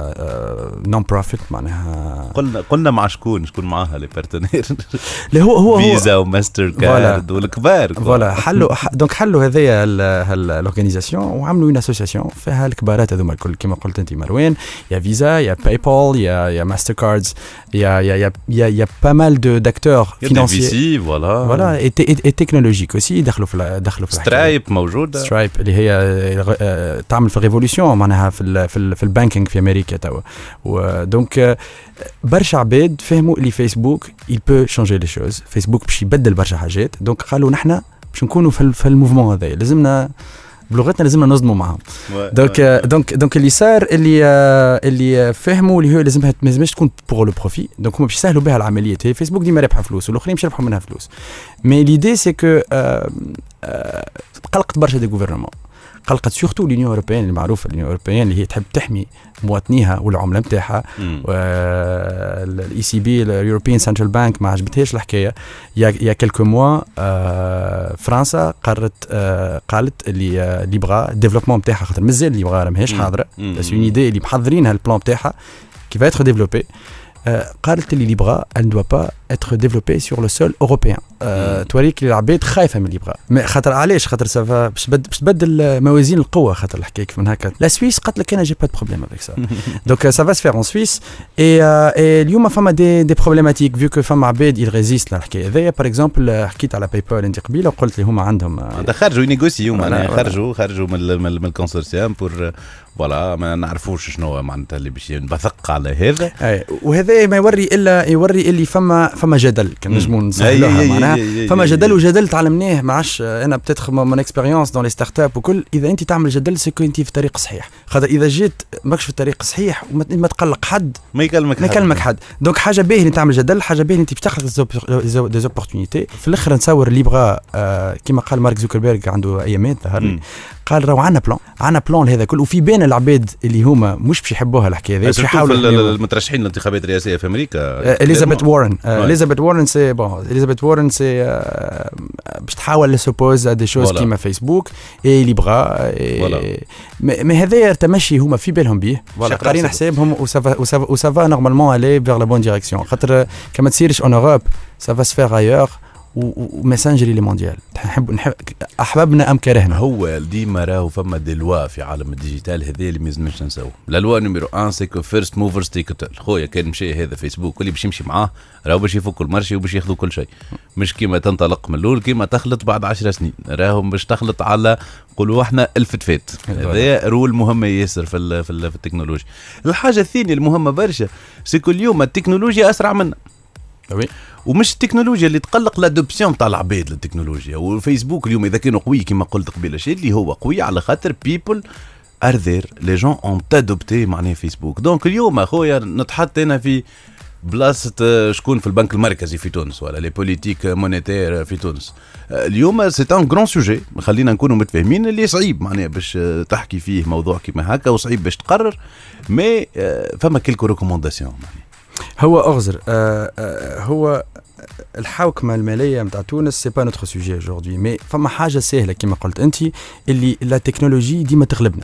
Speaker 6: نون بروفيت معناها.
Speaker 3: قلنا قلنا مع شكون شكون معاها لي بارتنير
Speaker 6: اللي هو هو
Speaker 3: فيزا وماستر كارد والكبار.
Speaker 6: فوالا حلوا دونك حلوا هذيا الاورغانيزاسيون وعملوا اون اسوسياسيون فيها الكبارات هذوما الكل كما قلت انت مروان. يا فيزا، يا باي بال، يا يا ماستر كاردز، يا يا يا يا يا با مال دو داكتور فينانسيي.
Speaker 3: فوالا
Speaker 6: فوالا اي تكنولوجيك اوسي دخلوا في دخلوا في
Speaker 3: سترايب موجوده.
Speaker 6: سترايب اللي هي تعمل في ريفولوشن معناها في ال في ال في البانكينج في امريكا توا. ودونك برشا عباد فهموا اللي فيسبوك il peut changer les choses. فيسبوك باش يبدل برشا حاجات. دونك قالوا نحنا باش نكونوا في في الموفمون هذا، لازمنا بلغتنا لازمنا نصدموا معهم. دونك دونك دونك اللي صار اللي اللي فهموا اللي هو لازمها ما لازمش تكون بور لو بروفي. دونك هما باش يسهلوا بها العمليات. هي فيسبوك ديما رابحه فلوس والاخرين باش يربحوا منها فلوس. مي ليدي سي كو قلقت برشا دي غوفرنمون. قلقت سورتو لونيون اوروبيان اللي معروفه لونيون اوروبيان اللي هي تحب تحمي مواطنيها والعمله نتاعها. الاي سي بي اليوروبيان سنترال بانك ما عجبتهاش الحكايه. يا يا كلكو موا فرنسا قررت آه قالت اللي آه اللي بغى الديفلوبمون نتاعها خاطر مازال اللي بغى ماهيش حاضره بس اون ايدي اللي محضرينها البلان نتاعها كي va être développé. قالت اللي بغى elle ne doit pas être développée sur le sol européen. توريك العباد خايفه من اللي بغى خاطر علاش خاطر سافا باش تبدل موازين القوه خاطر الحكايه من هكا. لا سويس قالت لك انا جي با دو بروبليم افيك سا دونك سا فا سفير اون سويس اي اليوم فما دي دي بروبليماتيك فيو كو فما عباد يل ريزيست للحكايه هذيا. باغ اكزومبل حكيت على باي بال انت قبيله وقلت لي هما عندهم
Speaker 3: خرجوا ينيغوسيو معناها خرجوا خرجوا من من الكونسورسيوم بور فوالا ما نعرفوش شنو معناتها اللي باش نبثق على هذا.
Speaker 6: وهذا ما يوري الا يوري اللي فما فما جدل كان نجموا نسهلوها معناها فما جدل وجدل تعلمناه ما عادش انا بتدخل من اكسبيريونس دون لي ستارت اب وكل. اذا انت تعمل جدل سكو انت في الطريق الصحيح خاطر اذا جيت ماكش في الطريق الصحيح وما تقلق حد
Speaker 3: ما يكلمك
Speaker 6: ما يكلمك حد. دونك حاجه باهيه اللي تعمل جدل حاجه باهيه انت بتخلق دي زوبورتونيتي. في الاخر نتصور اللي بغى آه كما قال مارك زوكربيرغ عنده ايامات ظهر لي قال راهو عندنا بلان عندنا بلان هذا كله وفي بين العباد اللي هما مش باش يحبوها الحكايه هذه باش
Speaker 3: يحاولوا المترشحين للانتخابات الرئاسيه في امريكا
Speaker 6: اليزابيث وارن اليزابيث وارن سي بون اليزابيث وارن سي باش تحاول لسوبوز دي شوز كيما فيسبوك اي اللي بغا مي هذايا تمشي هما في بالهم بيه قارين حسابهم وسافا وسافا نورمالمون الي فيغ لا بون ديريكسيون خاطر كما تصيرش اون اوروب سافا سفير ايور ومسنجري لي مونديال نحب نحب احبابنا ام كرهنا.
Speaker 3: هو ديما راهو فما دي لوا في عالم الديجيتال هذا اللي ما لازمش نساو. لا لوا نيميرو واحد سيكو فيرست موفرز تيكت. خويا كان مشي هذا فيسبوك واللي باش يمشي معاه راهو باش يفكوا المارشي وباش ياخذوا كل شيء مش كيما تنطلق من الاول كيما تخلط بعد عشر سنين راهو باش تخلط على قولوا احنا الفتفات. هذا رول مهمه ياسر في في التكنولوجيا. الحاجه الثانيه المهمه برشا سيكو اليوم التكنولوجيا اسرع منا
Speaker 6: وي
Speaker 3: ومش التكنولوجيا اللي تقلق لادوبسيون تاع العباد للتكنولوجيا. والفيسبوك اليوم اذا كانوا قوي كما قلت قبيله شيء اللي هو قوي على خاطر بيبل ار ذير لي جون اون تادوبتي معناها فيسبوك. دونك اليوم اخويا نتحط انا في بلاصه شكون في البنك المركزي في تونس ولا لي بوليتيك مونيتير في تونس. اليوم سي ان غران سوجي خلينا نكونوا متفاهمين اللي صعيب معناها باش تحكي فيه موضوع كيما هكا وصعيب باش تقرر مي فما كيلكو ريكومونداسيون.
Speaker 6: هو أغزر آه آه هو الحوكمة المالية متاع تونس سي با نوتر سوجي اجوردي مي فما حاجة سهلة كما قلت أنت اللي لا تكنولوجي ديما تغلبنا.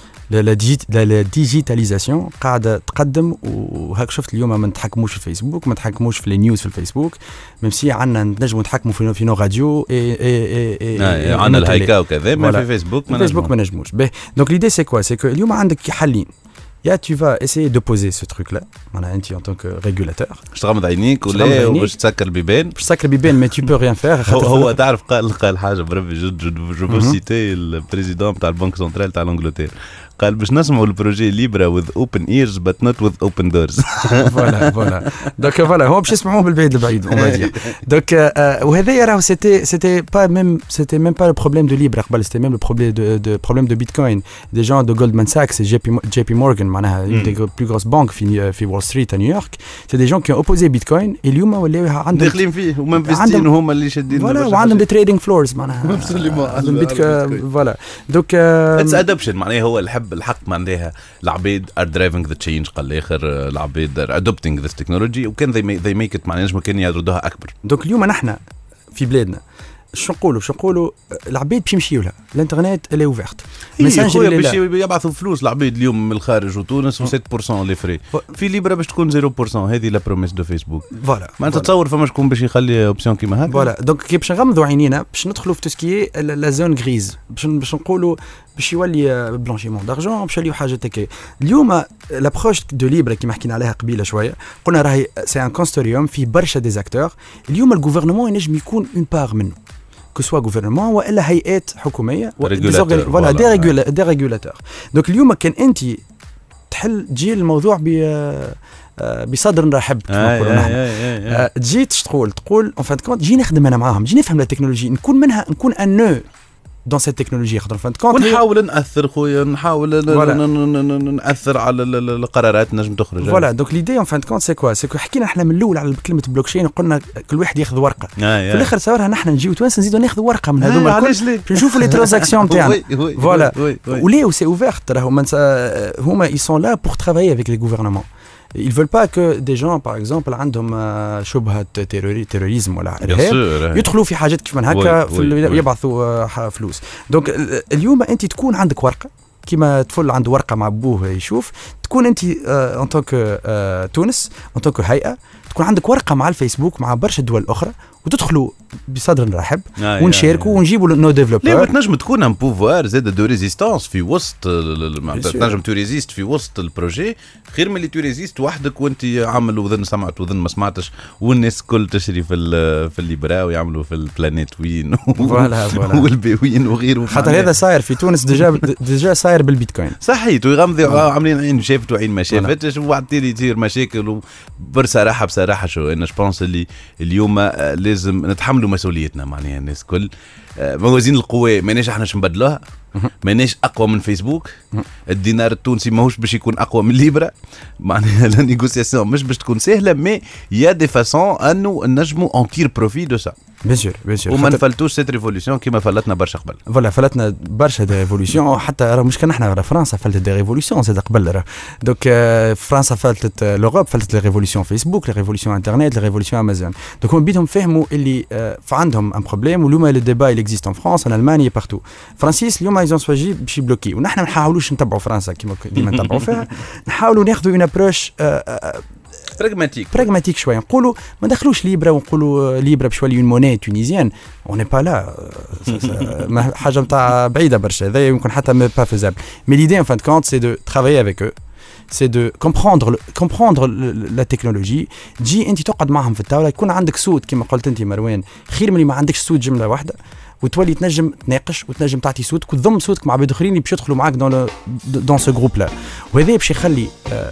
Speaker 6: لا ديجيتاليزاسيون قاعدة تقدم وهاك شفت اليوم ما نتحكموش في الفيسبوك ما نتحكموش في النيوز في الفيسبوك ميمسي عندنا نجموا نتحكموا في في نو راديو اي اي اي
Speaker 3: عندنا الهيكا وكذا ما في فيسبوك
Speaker 6: ما فيسبوك ما نجموش. دونك ليدي سي كوا سي كو اليوم عندك حلين يا tu vas essayer de poser ce truc là معناها انت en tant que régulateur
Speaker 3: باش تغمض عينيك ولا باش تسكر البيبان
Speaker 6: باش تسكر البيبان mais tu peux rien faire.
Speaker 3: هو, هو تعرف قال قال حاجه بربي جد جو بو سيتي البريزيدون تاع البنك سنترال تاع لانجلتير قال باش نسمعوا البروجي ليبرا with open ears but not with open doors.
Speaker 6: فوالا فوالا دونك فوالا هو باش يسمعوه بالبعيد البعيد اون فادير. دونك وهذايا راهو سيتي سيتي با ميم سيتي ميم با لو بروبليم دو ليبرا قبل سيتي ميم لو بروبليم دو دو بروبليم دو بيتكوين دي جون دو جولدمان ساكس جي بي جي بي مورغان معناها دي بلو غروس بانك في في وول ستريت ا نيويورك سي دي جون كي اوبوزي بيتكوين اليوم ولاو عندهم
Speaker 3: داخلين فيه ومنفستين هما اللي شادين
Speaker 6: فوالا وعندهم دي تريدينغ فلورز معناها فوالا دونك
Speaker 3: اتس ادوبشن معناها هو الحب الحق معناها العبيد are driving the change قال الاخر العبيد are adopting this technology وكان they make, they make it معناها نجم كان يردوها اكبر.
Speaker 6: دونك اليوم نحن في بلادنا شو نقولوا شو نقولوا العبيد باش يمشيوا لها الانترنت اللي اوفيرت
Speaker 3: ميساجر باش يبعثوا فلوس العبيد اليوم من الخارج وتونس و سبعة بالمية لي فري في ليبرا باش تكون صفر بالمية هذه لا بروميس دو فيسبوك.
Speaker 6: فوالا
Speaker 3: ما تتصور فما شكون باش يخلي اوبسيون كيما هكا.
Speaker 6: فوالا دونك كي باش نغمضوا عينينا باش ندخلوا في توسكي لا زون غريز باش باش نقولوا باش يولي بلانشيمون دارجون باش يوليو حاجه هكا. اليوم لابروش دو ليبرا كيما حكينا عليها قبيله شويه قلنا راهي سي ان كونستوريوم فيه برشا ديزاكتور. اليوم الغوفرنمون ينجم يكون اون بار منه que soit gouvernement ولا هيئات حكوميه ولا دي ريغولاتور. دونك اليوم كان انت تحل تجي الموضوع ب بصدر رحب كما نقولوا نحن تجي تقول تقول اون فان كونت جي نخدم انا معاهم جي نفهم التكنولوجيا نكون منها نكون ان نو دون سيت تكنولوجي خاطر فان كونت
Speaker 3: ونحاول ناثر خويا نحاول ناثر على القرارات نجم تخرج
Speaker 6: فوالا دونك ليدي اون فان كونت سي كوا سي كو حكينا احنا من الاول على كلمه بلوكشين وقلنا كل واحد ياخذ ورقه
Speaker 3: آه
Speaker 6: في الاخر صورها نحن نجيو توانس نزيدو ناخذ ورقه من هذوما الكل نشوفوا لي ترانزاكسيون نتاعنا فوالا ولي سي اوفيرت راهو هما ils sont là pour travailler avec les gouvernements. Ils veulent pas que des gens par exemple عندهم شبهة terrorisme ولا إرهاب يدخلوا في حاجات كيف من هكا يبعثوا فلوس. دونك اليوم أنت تكون عندك ورقة كما طفل عنده ورقة مع أبوه يشوف تكون أنت en tant que تونس en tant que هيئة تكون عندك ورقة مع الفيسبوك مع برشا دول أخرى وتدخلوا بصدر رحب
Speaker 3: آه
Speaker 6: ونشاركوا ونجيبوا نو ديفلوبر.
Speaker 3: ليه تنجم تكون ان بوفوار زاد دو ريزيستانس في وسط تنجم تو ريزيست في وسط البروجي خير من اللي تو ريزيست وحدك وانت عامل وذن سمعت وذن ما سمعتش والناس كل تشري في في الليبرا ويعملوا في البلانيت وين
Speaker 6: فوالا فوالا
Speaker 3: والبيوين وغيره
Speaker 6: خاطر هذا صاير في تونس ديجا ديجا صاير بالبيتكوين
Speaker 3: صحيت ويغمضوا عاملين عين شافت وعين ما شافتش وبعد يصير مشاكل بصراحه بصراحه شو انا جبونس اللي اليوم لازم نتحملوا مسؤوليتنا معناها الناس كل موازين القوى ماناش احنا باش نبدلوها ماناش اقوى من فيسبوك الدينار التونسي ماهوش باش يكون اقوى من ليبرا معناها لا نيغوسياسيون مش باش تكون سهله مي يا دي فاسون انه نجموا اون تير بروفي دو سا
Speaker 6: بيان سور بيان سور
Speaker 3: وما نفلتوش سيت ريفولوسيون كيما فلتنا برشا قبل
Speaker 6: فوالا فلتنا برشا دي ريفولوسيون حتى راه مش كان احنا فرنسا فلتت دي ريفولوسيون زاد قبل راه دونك فرنسا فلتت لوروب فلتت لي ريفولوسيون فيسبوك لي ريفولوسيون انترنت لي ريفولوسيون امازون دونك هم بيدهم فهموا اللي عندهم ان بروبليم واليوم لو ديبا il existe en France en Allemagne et partout فرانسيس اليوم ايزون سواجي باش يبلوكي ونحن ما نحاولوش نتبعوا فرنسا كيما ديما نتبعوا فيها نحاولوا ناخذوا اون ابروش
Speaker 3: براغماتيك
Speaker 6: براغماتيك شويه نقولوا ما دخلوش ليبرا ونقولوا ليبرا باش يولي اون موني تونيزيان اون با لا حاجه نتاع بعيده برشا هذا يمكن حتى ما با فيزابل مي ليدي ان فان كونت سي دو ترافايي افيك او c'est de comprendre comprendre la technologie تجي انت تقعد معهم في الطاوله يكون عندك سود كما قلت انت مروان خير من اللي ما عندكش سود جمله واحده وتولي تنجم تناقش وتنجم تعطي صوتك وتضم صوتك مع عباد اخرين اللي باش يدخلوا معاك دون دون سو جروب لا وهذا باش يخلي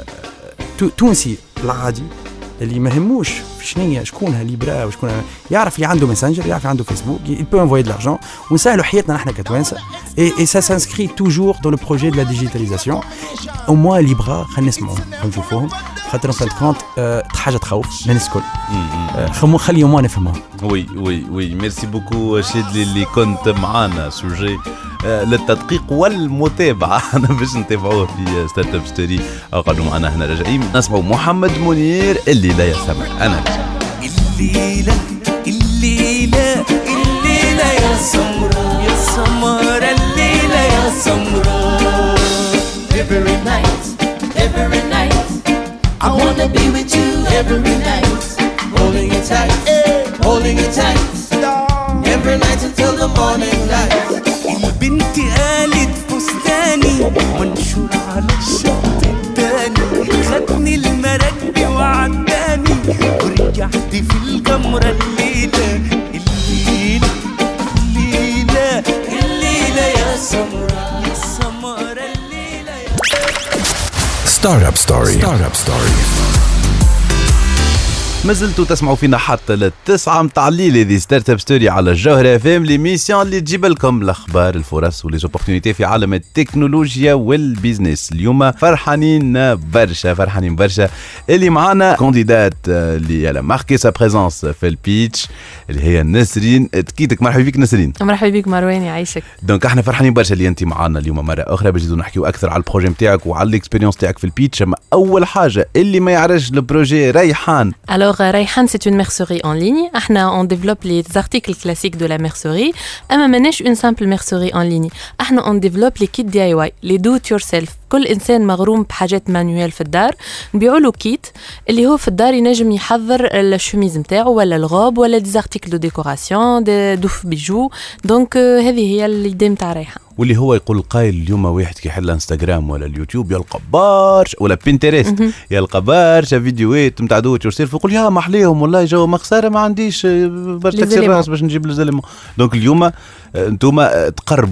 Speaker 6: تونسي العادي اللي ما هموش شنو شكونها ليبرا وشكون يعرف اللي عنده ماسنجر يعرف عنده فيسبوك il peut envoyer de l'argent ونسهلوا حياتنا نحن كتوانسه et et ça s'inscrit toujours dans le projet de la digitalisation au moins ليبرا خلينا نسمعوا نشوفوهم خاطر فان كونت حاجه تخوف الناس الكل خمو خليهم ما نفهمهم
Speaker 3: وي وي وي ميرسي بوكو شادلي اللي كنت معانا سوجي للتدقيق والمتابعه انا باش نتابعوه في ستارت اب ستوري قعدوا معنا هنا راجعين نسمعوا محمد منير اللي لا يسمع انا
Speaker 7: الليله الليله الليله يا سمراء يا سمراء الليله يا سمراء
Speaker 5: Every night, every night I wanna be with you every night Holding you tight, holding you tight Every night until the morning light
Speaker 7: البنت قالت فستاني منشور على الشط التاني خدني المراكبي وعداني ورجعت في الجمرة الليلة الليلة الليلة الليلة يا سمرة يا سمرة الليلة يا
Speaker 2: Startup Story. Startup Story.
Speaker 3: ما زلتوا تسمعوا فينا حتى للتسعة متاع الليل هذه ستارت اب ستوري على الجوهرة اف ام ليميسيون اللي تجيب لكم الاخبار الفرص وليزوبورتينيتي في عالم التكنولوجيا والبيزنس. اليوم فرحانين برشا فرحانين برشا اللي معانا كانديدات اللي على ماركي سا بريزونس في البيتش اللي هي نسرين. تكيتك مرحبا بك نسرين.
Speaker 8: مرحبا بك مروان يعيشك.
Speaker 3: دونك احنا فرحانين برشا اللي انت معانا اليوم مرة اخرى باش نزيدو نحكيو اكثر على البروجي نتاعك وعلى الاكسبيريونس تاعك في البيتش. اما اول حاجة اللي ما يعرفش البروجي ريحان.
Speaker 8: Alors Rayhan c'est une mercerie en ligne. احنا on développe les articles classiques de la mercerie. اما ماناش une simple mercerie en ligne. احنا on développe les kits دي آي واي, les do it yourself. كل انسان مغروم بحاجات مانويل في الدار نبيعوا له كيت اللي هو في الدار ينجم يحضر الشميز نتاعو ولا الغوب ولا دي زارتيكل دو ديكوراسيون دي دوف بيجو. دونك هذه هي الإيديا نتاع ريحان.
Speaker 3: واللي هو يقول قايل اليوم واحد كي يحل انستغرام ولا اليوتيوب يلقى بارش ولا بينترست يلقى بارشا فيديوهات نتاع دو ات يور سيلف يقول يا محليهم والله جو مخساره ما عنديش برشا اكسبيرينس باش نجيب لي زلمه. دونك اليوم انتوما تقربوا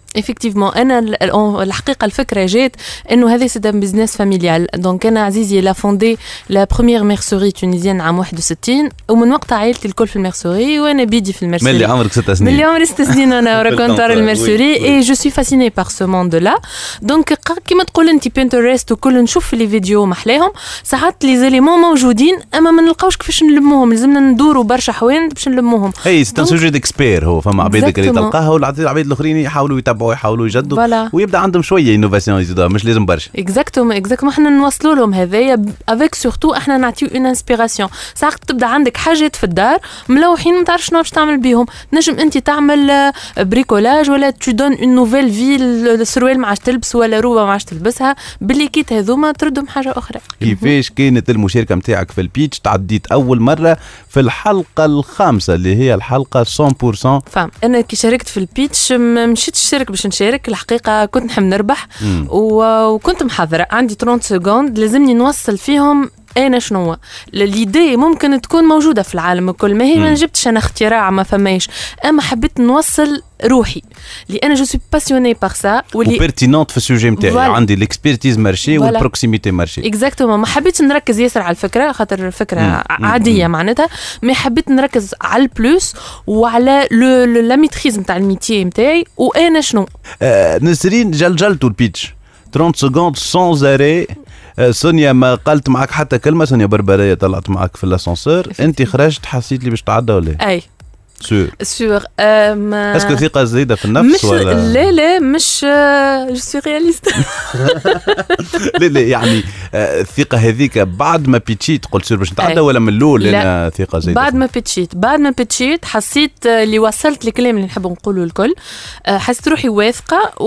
Speaker 8: effectivement انا الحقيقه الفكره جات انه هذا سي دان بيزنس فاميليال. دونك انا عزيزي لا فوندي لا بروميير ميرسوري تونيزيان عام واحد وستين ومن وقتها عائلتي الكل في الميرسوري وانا بيدي في الميرسوري.
Speaker 3: ملي عمرك ست سنين.
Speaker 8: ملي عمري ست سنين انا راكونتار الميرسوري اي جو سوي فاسيني بار سو موند لا. دونك كيما تقول انت بينترست وكل نشوف في لي فيديو محلاهم ساعات لي زيليمون موجودين اما ما نلقاوش كيفاش نلموهم لازمنا ندوروا برشا حوين باش نلموهم.
Speaker 3: اي سي ان سوجي ديكسبير هو فما عباد اللي تلقاها والعباد الاخرين يحاولوا يتبعوا يحاولوا يجدوا voilà. ويبدا عندهم شويه انوفاسيون يزيدوها مش لازم برشا.
Speaker 8: اكزاكتومون اكزاكتومون احنا نوصلوا لهم هذايا افيك سورتو احنا نعطيو اون انسبيراسيون. ساعات تبدا عندك حاجات في الدار ملوحين ما تعرفش شنو باش تعمل بيهم نجم انت تعمل بريكولاج ولا تو دون اون نوفيل في السروال ما عادش تلبس ولا روبه ما عادش تلبسها باللي كيت هذوما تردهم حاجه اخرى.
Speaker 3: كيفاش كانت المشاركه نتاعك في البيتش؟ تعديت اول مره في الحلقه الخامسه اللي هي الحلقه مية بالمية
Speaker 8: فهم. انا كي شاركت في البيتش ما مشيتش نشارك باش نشارك الحقيقه كنت نحب نربح وكنت محضره عندي ثلاثين سكوند لازمني نوصل فيهم انا شنو ليدي ممكن تكون موجوده في العالم الكل ما هي ما جبتش انا اختراع ما فماش اما حبيت نوصل روحي لان جو سوي باسيوني بار سا
Speaker 3: ولي بيرتينونت في السوجي نتاعي عندي ليكسبيرتيز مارشي والبروكسيميتي مارشي
Speaker 8: اكزاكتومون. ما حبيتش نركز ياسر على الفكره خاطر الفكره مم. عاديه مم. معناتها ما حبيت نركز على البلوس وعلى لو لا ميتريز نتاع الميتي نتاعي وانا شنو
Speaker 3: آه نسرين جلجلتوا البيتش ثلاثين سكوند سون اري. سونيا ما قالت معك حتى كلمه. سونيا بربريه طلعت معك في الاسانسور انت خرجت حسيت لي باش تعدى ولا
Speaker 8: اي
Speaker 3: سور
Speaker 8: سور
Speaker 3: اسكو ثقه زايده في النفس
Speaker 8: مش
Speaker 3: ولا
Speaker 8: لا لا مش جو سوي رياليست.
Speaker 3: لا لا يعني الثقه هذيك بعد ما بيتشيت قلت سور باش نتعدى ولا من الاول انا ثقه زايده؟
Speaker 8: بعد ما بيتشيت بعد ما بيتشيت حسيت اللي وصلت الكلام اللي نحب نقوله الكل حسيت روحي واثقه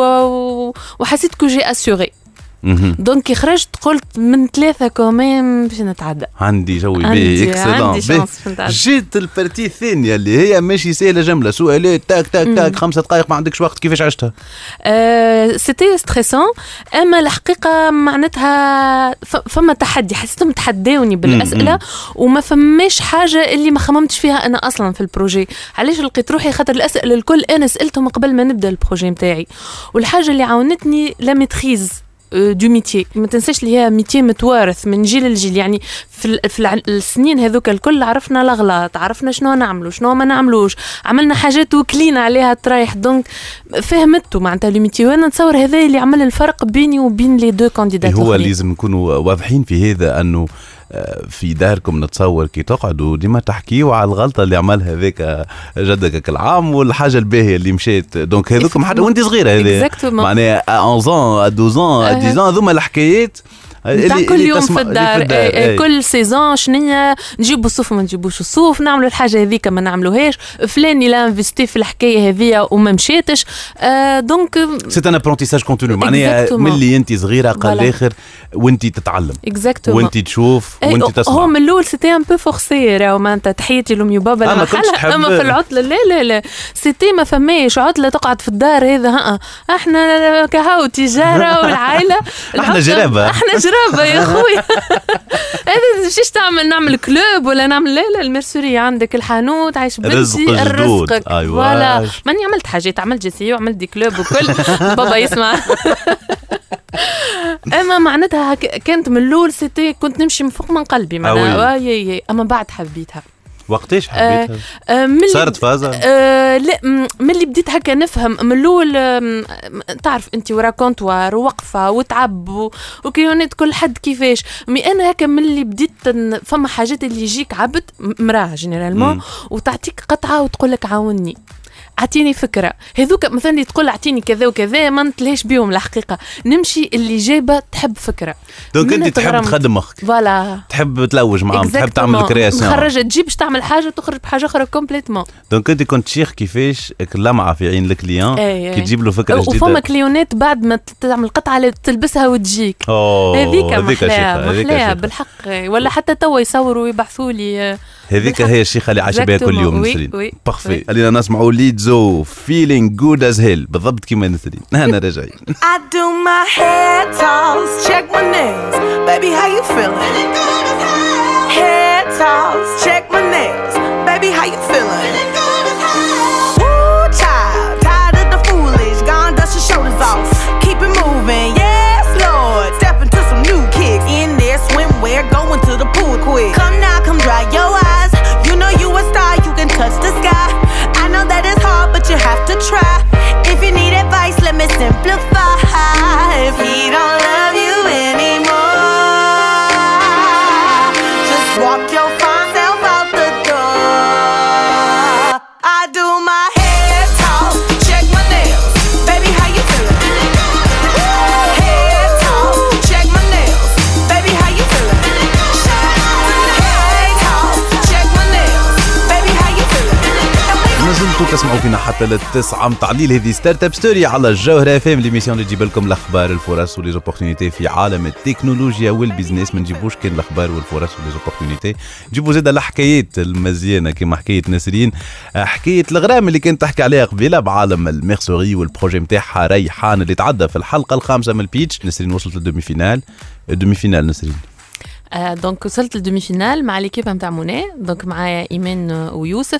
Speaker 8: وحسيت كو جي اسوري. دونك خرجت قلت من ثلاثة كومين باش نتعدى
Speaker 3: عندي جوي بيه اكسلون. جيت البارتي الثانية اللي هي ماشي سهلة جملة سؤالات تاك تاك تاك خمسة دقائق ما عندكش وقت كيفاش عشتها؟
Speaker 8: أه سيتي ستريسون اما الحقيقة معناتها فما تحدي حسيتهم تحداوني بالأسئلة وما فماش حاجة اللي ما خممتش فيها أنا أصلا في البروجي. علاش لقيت روحي خاطر الأسئلة الكل أنا سألتهم قبل ما نبدأ البروجي متاعي والحاجة اللي عاونتني لا ميتريز دو ميتي. ما تنساش اللي هي ميتي متوارث من جيل لجيل يعني في, في السنين هذوك الكل عرفنا الأغلاط عرفنا شنو نعملوا شنو ما نعملوش عملنا حاجات وكلينا عليها ترايح. دونك فهمتوا معناتها الميتي وانا نتصور هذا اللي عمل الفرق بيني وبين لي دو كانديدات.
Speaker 3: هو لازم نكونوا واضحين في هذا انه في داركم نتصور كي تقعدوا ديما تحكيوا على الغلطه اللي عملها هذاك جدك العام والحاجه الباهيه اللي مشات. دونك هذوكم حتى وانت صغيره هذه معناها احد عشر اثناش عشر هذوما الحكايات
Speaker 8: اللي كل يوم في الدار, في الدار. اي اي كل سيزون شنية نجيبوا الصوف وما نجيبوش الصوف نعملوا الحاجه هذيك ما نعملوهاش فلان لا انفستي في الحكايه هذيا وما مشيتش. آه دونك
Speaker 3: سي ان ابرونتيساج كونتينيو معناها ملي انت صغيره قال الاخر وانت تتعلم وانت تشوف وانت تسمع.
Speaker 8: هو من الاول سيتي ان بو فورسي راهو معناتها تحياتي لامي وبابا
Speaker 3: لما حلها
Speaker 8: اما في العطله لا لا لا سيتي ما فماش عطله تقعد في الدار هذا ها احنا كهو تجاره والعائله
Speaker 3: احنا جرابه
Speaker 8: احنا جرابه يا خويا. هذا شيش تعمل نعمل كلوب ولا نعمل لا لا الميرسوري عندك الحانوت عايش بنتي رزقك فوالا ماني عملت حاجات عملت جسيه وعملت دي كلوب وكل بابا يسمع. اما معناتها كانت من الاول سيتي كنت نمشي من فوق من قلبي معناها آه اما بعد حبيتها.
Speaker 3: وقتاش حبيتها؟
Speaker 8: آه
Speaker 3: صارت فازة؟
Speaker 8: آه لا من اللي بديت هكا نفهم من الاول آه تعرف انت ورا كونتوار ووقفه وتعب وكيونات كل حد كيفاش مي انا هكا من اللي بديت فما حاجات اللي يجيك عبد مراه جينيرالمون وتعطيك قطعه وتقول لك عاوني اعطيني فكره هذوك مثلا اللي تقول اعطيني كذا وكذا ما نتلهاش بيهم الحقيقه نمشي اللي جايبه تحب فكره.
Speaker 3: دونك انت تحب تخدم مخك
Speaker 8: فوالا
Speaker 3: تحب تلوج معاهم تحب تعمل كرياسيون
Speaker 8: مخرجه تجيب باش تعمل حاجه تخرج بحاجه اخرى كومبليتمون.
Speaker 3: دونك انت كنت شيخ كيفاش لمعه في عين الكليون كي تجيب له فكره جديده
Speaker 8: وفما كليونات بعد ما تعمل قطعه تلبسها وتجيك هذيك محلاها محلاها بالحق ولا حتى توا يصوروا ويبعثوا لي
Speaker 3: هذيك هي الشيخه اللي عايشه بها كل يوم نسرين. بارفي خلينا نسمعوا ليدزو feeling good as hell بالضبط كيما نسرين. انا راجعين.
Speaker 9: I do my hair toss check my nails baby how you feeling hair toss check my nails baby how you feeling woo child tired of the foolish gone
Speaker 3: انتم تسمعوا فينا حتى للتسعة متعديل هذه ستارت اب ستوري على الجوهرة اف ام، ليميسيون اللي تجيب لكم الاخبار الفرص وليزوبورتينيتي في عالم التكنولوجيا والبيزنس. ما نجيبوش كان الاخبار والفرص وليزوبورتينيتي، نجيبوا زيد الحكايات المزيانه كما حكايه نسرين، حكايه الغرام اللي كانت تحكي عليها قبيله بعالم الميرسوري والبروجي نتاعها ريحان اللي تعدى في الحلقه الخامسه من البيتش. نسرين وصلت للدومي فينال. الدومي فينال نسرين
Speaker 8: آه دونك وصلت للدومي فينال مع ليكيب نتاع موني، دونك معايا ايمان ويوسف.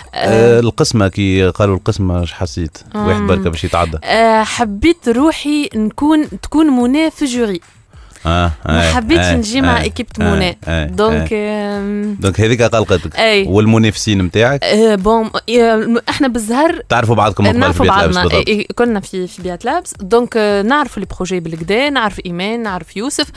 Speaker 3: آه القسمه كي قالوا القسمه اش حسيت؟ واحد بركه باش يتعدى.
Speaker 8: آه حبيت روحي نكون تكون موني في جوري.
Speaker 3: اه
Speaker 8: ما حبيتش
Speaker 3: آه
Speaker 8: نجي مع
Speaker 3: آه
Speaker 8: ايكيب موني.
Speaker 3: آه
Speaker 8: دونك
Speaker 3: آه دونك هذيك قلقتك. والمنافسين نتاعك
Speaker 8: آه بون احنا بالزهر
Speaker 3: تعرفوا بعضكم قبل في بيات لابس بالضبط.
Speaker 8: كنا في في بيات لابس، دونك نعرف لي بروجي بالكدا، نعرف ايمان، نعرف يوسف.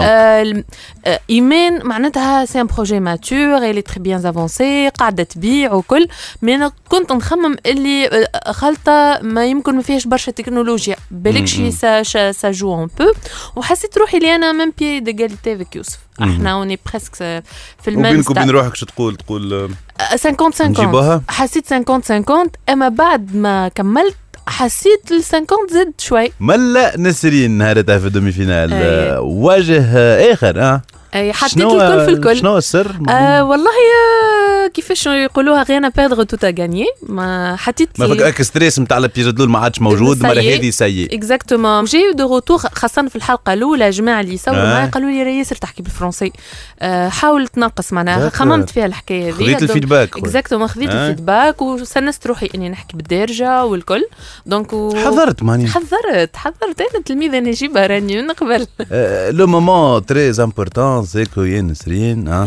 Speaker 8: آه ايمان معناتها سي ان بروجي ماتور، الي تري بيان افونسي، قاعده تبيع وكل. مي انا كنت نخمم اللي خلطه ما يمكن ما فيهاش برشا تكنولوجيا، بالك شي سا سا جو ان بو، وحسيت روحي لي انا ميم بيي ديغاليتي فيك يوسف. احنا وني بريسك في الميم
Speaker 3: وبينك وبين روحك شو تقول تقول
Speaker 8: خمسين خمسين. حسيت خمسين خمسين، اما بعد ما كملت حسيت ال خمسين زد شوي.
Speaker 3: ملا نسرين نهارتها في الدومي فينال أيه. وجه اخر اه
Speaker 8: اي حطيت الكل في الكل.
Speaker 3: شنو السر؟
Speaker 8: آه والله آه كيفاش يقولوها غير بيردغ توتا غانيي. ما حطيت
Speaker 3: ما فك اكستريس نتاع البيريود ما عادش موجود، مره هذه سيء
Speaker 8: اكزاكتومون. جاي دو روتور خاصه في الحلقه الاولى جماعه اللي يصوروا آه. معايا قالوا لي راهي ياسر تحكي بالفرنسي. آه حاول تنقص معناها. خممت فيها الحكايه هذه،
Speaker 3: خذيت الفيدباك
Speaker 8: اكزاكتومون خذيت آه. الفيدباك وسنست روحي اني نحكي بالدارجه والكل. دونك و...
Speaker 3: حضرت ماني
Speaker 8: حضرت حضرت انا تلميذه نجيبها راني من قبل.
Speaker 3: آه لو مومون تري امبورطون سيكو ين نسرين اه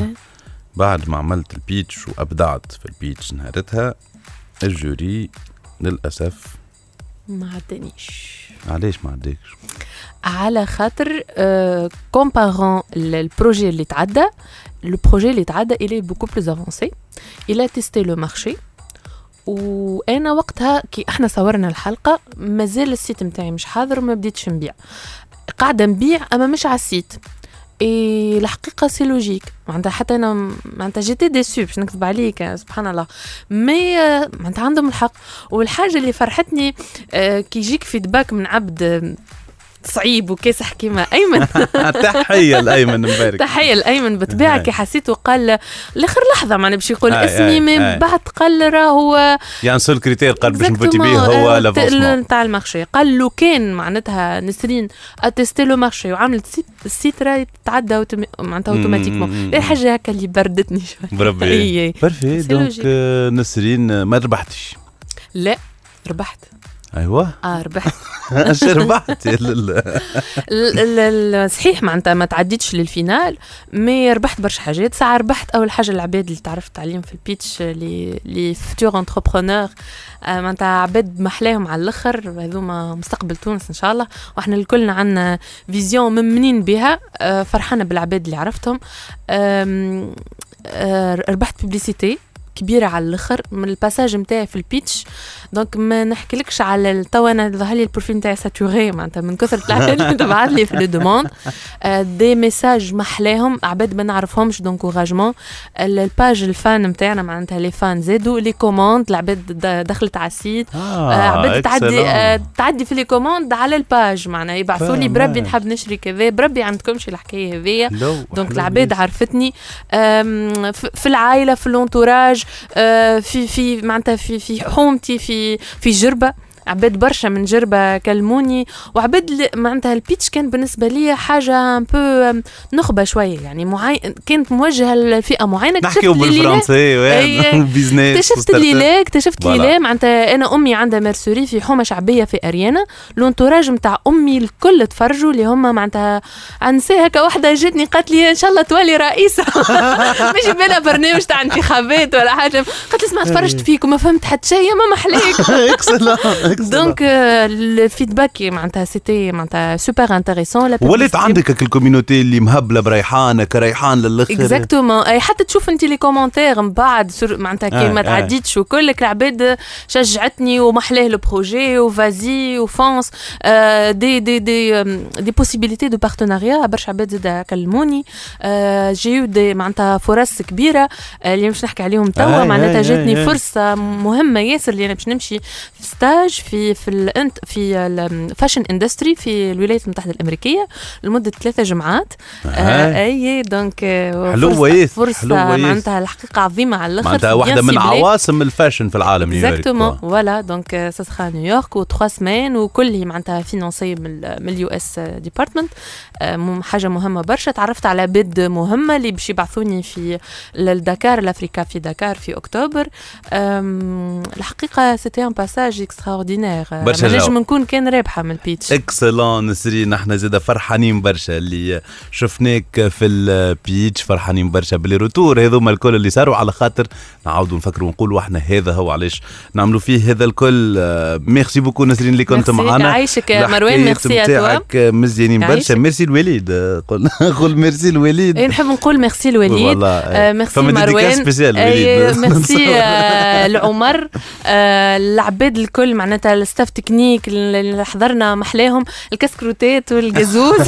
Speaker 3: بعد ما عملت البيتش وابدعت في البيتش نهارتها، الجوري للاسف
Speaker 8: ما عدانيش.
Speaker 3: علاش ما عداكش؟
Speaker 8: على خاطر آه كومبارون البروجي اللي تعدى، لو بروجي اللي تعدى il est beaucoup plus avancé, il a testé le marché. وانا وقتها كي احنا صورنا الحلقه مازال السيت نتاعي مش حاضر وما بديتش نبيع، قاعده نبيع اما مش على السيت. اي الحقيقه سي لوجيك معناتها، حتى انا معناتها جيتي ديسو باش نكذب عليك سبحان الله، مي معناتها عندهم الحق. والحاجه اللي فرحتني كي يجيك فيدباك من عبد صعيب وكاسح كيما ايمن.
Speaker 3: تحيه لايمن مبارك.
Speaker 8: تحيه لايمن بالطبيعه كي حسيته قال لاخر لحظه معناها باش يقول اسمي، من بعد قال راه هو
Speaker 3: يعني سول كريتير قال باش نفوتي به هو لافونسمون
Speaker 8: نتاع المارشي. قال له كان معناتها نسرين اتيستي لو مارشي وعملت السيت راه تعدى معناتها اوتوماتيكمون. اي حاجه هكا اللي بردتني شويه
Speaker 3: بربي بارفي. دونك نسرين ما ربحتش؟
Speaker 8: لا ربحت.
Speaker 3: ايوه
Speaker 8: اه ربحت.
Speaker 3: اش ربحت؟
Speaker 8: صحيح معناتها ما تعديتش للفينال، مي ربحت برشا حاجات. ساعه ربحت اول حاجه العباد اللي تعرفت عليهم في البيتش لي لي فيتور انتربرونور، معناتها عباد محلاهم على الاخر، هذوما مستقبل تونس ان شاء الله، واحنا الكلنا عندنا فيزيون ممنين بها. فرحانه بالعباد اللي عرفتهم. ربحت ببليسيتي كبيره على الاخر من الباساج نتاعي في البيتش. دونك ما نحكيلكش على تو انا ظهر لي البروفيل نتاعي ساتوري معناتها من كثر العباد اللي تبعت لي في لو دوموند دي ميساج محلاهم عباد ما نعرفهمش. دونك اوراجمون الباج الفان نتاعنا معناتها لي فان زادوا لي كوموند، العباد دخلت على السيت آه عباد تعدي آه تعدي في لي كوموند على الباج معناها يبعثوا لي بربي نحب نشري كذا، بربي عندكمش الحكايه هذيا. دونك العباد عرفتني في العائله في الانتوراج في في معناتها في في حومتي في في جربة، عباد برشا من جربة كلموني، وعباد معناتها البيتش كان بالنسبة لي حاجة امبو نخبة شوية يعني معين، كانت موجهة لفئة معينة.
Speaker 3: نحكيو بالفرنسي وبيزنس.
Speaker 8: اكتشفت اللي لا اكتشفت اللي لا معناتها أنا أمي عندها ميرسوري في حومة شعبية في أريانا، لونتوراج متاع أمي الكل تفرجوا اللي هما معناتها عنسي هكا واحدة جتني قالت لي إن شاء الله تولي رئيسة. مش بلا برنامج تاع انتخابات ولا حاجة، قالت لي اسمع تفرجت فيك وما فهمت حتى شيء ما محليك. دونك الفيدباك معناتها سيتي معناتها سوبر انتريسون.
Speaker 3: ولات عندك الكوميونيتي اللي مهبله بريحانه كريحان للاخر.
Speaker 8: اكزاكتومون. اي حتى تشوف انت لي كومونتير من بعد معناتها كي ما تعديتش وكل العباد شجعتني ومحلاه لو بروجي وفازي وفونس دي دي دي دي بوسيبيليتي دو بارتناريا. برشا عباد زاد كلموني جيو دي معناتها فرص كبيره اللي مش نحكي عليهم توا. معناتها جاتني فرصه مهمه ياسر اللي انا باش نمشي في ستاج في في الانت في الفاشن اندستري في الولايات المتحده الامريكيه لمده ثلاثه جمعات. اي دونك
Speaker 3: حلوه ياسر.
Speaker 8: فرصه معناتها الحقيقه عظيمه على الاخر.
Speaker 3: معناتها واحده من عواصم الفاشن في العالم نيويورك.
Speaker 8: اكزاكتومون فوالا. دونك سا سخا نيويورك وثلاث سمان وكل معناتها فينانسي من اليو اس ديبارتمنت. حاجه مهمه برشا. تعرفت على بيد مهمه اللي باش يبعثوني في الدكار الافريكا في دكار في اكتوبر. الحقيقه سيتي ان باساج اكستراوردينير. نجم نكون كان رابحه من البيتش.
Speaker 3: اكسلون نسرين. نحن زاده فرحانين برشا اللي شفناك في البيتش. فرحانين برشا باللي روتور هذوما الكل اللي صاروا على خاطر نعاودوا نفكروا ونقولوا احنا هذا هو علاش نعملوا فيه هذا الكل. ميرسي بوكو نسرين اللي كنت معنا.
Speaker 8: عايشك مروان. ميرسي
Speaker 3: اتواك مزيانين برشا. ميرسي الوليد. قول قول ميرسي الوليد.
Speaker 8: نحب نقول ميرسي الوليد. ميرسي مروان. ميرسي العمر. العباد الكل معناتها الستاف تكنيك اللي حضرنا محلاهم الكسكروتات والجازوز.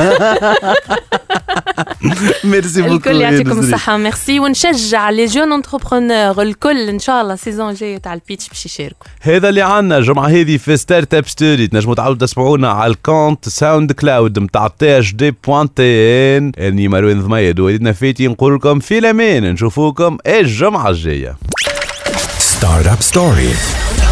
Speaker 3: ميرسي بوكو.
Speaker 8: الكل يعطيكم الصحة. ميرسي. ونشجع لي جون انتربرونور الكل ان شاء الله سيزون جاية تاع البيتش باش يشاركوا.
Speaker 3: هذا اللي عنا الجمعة هذه في ستارت اب ستوري. تنجموا تعاودوا تسمعونا على الكونت ساوند كلاود نتاع تي اش دي بوان تي ان. اني مروان ضميد وليدنا فيتي نقول لكم في الامان. نشوفوكم الجمعة الجاية.
Speaker 2: ستارت اب ستوري.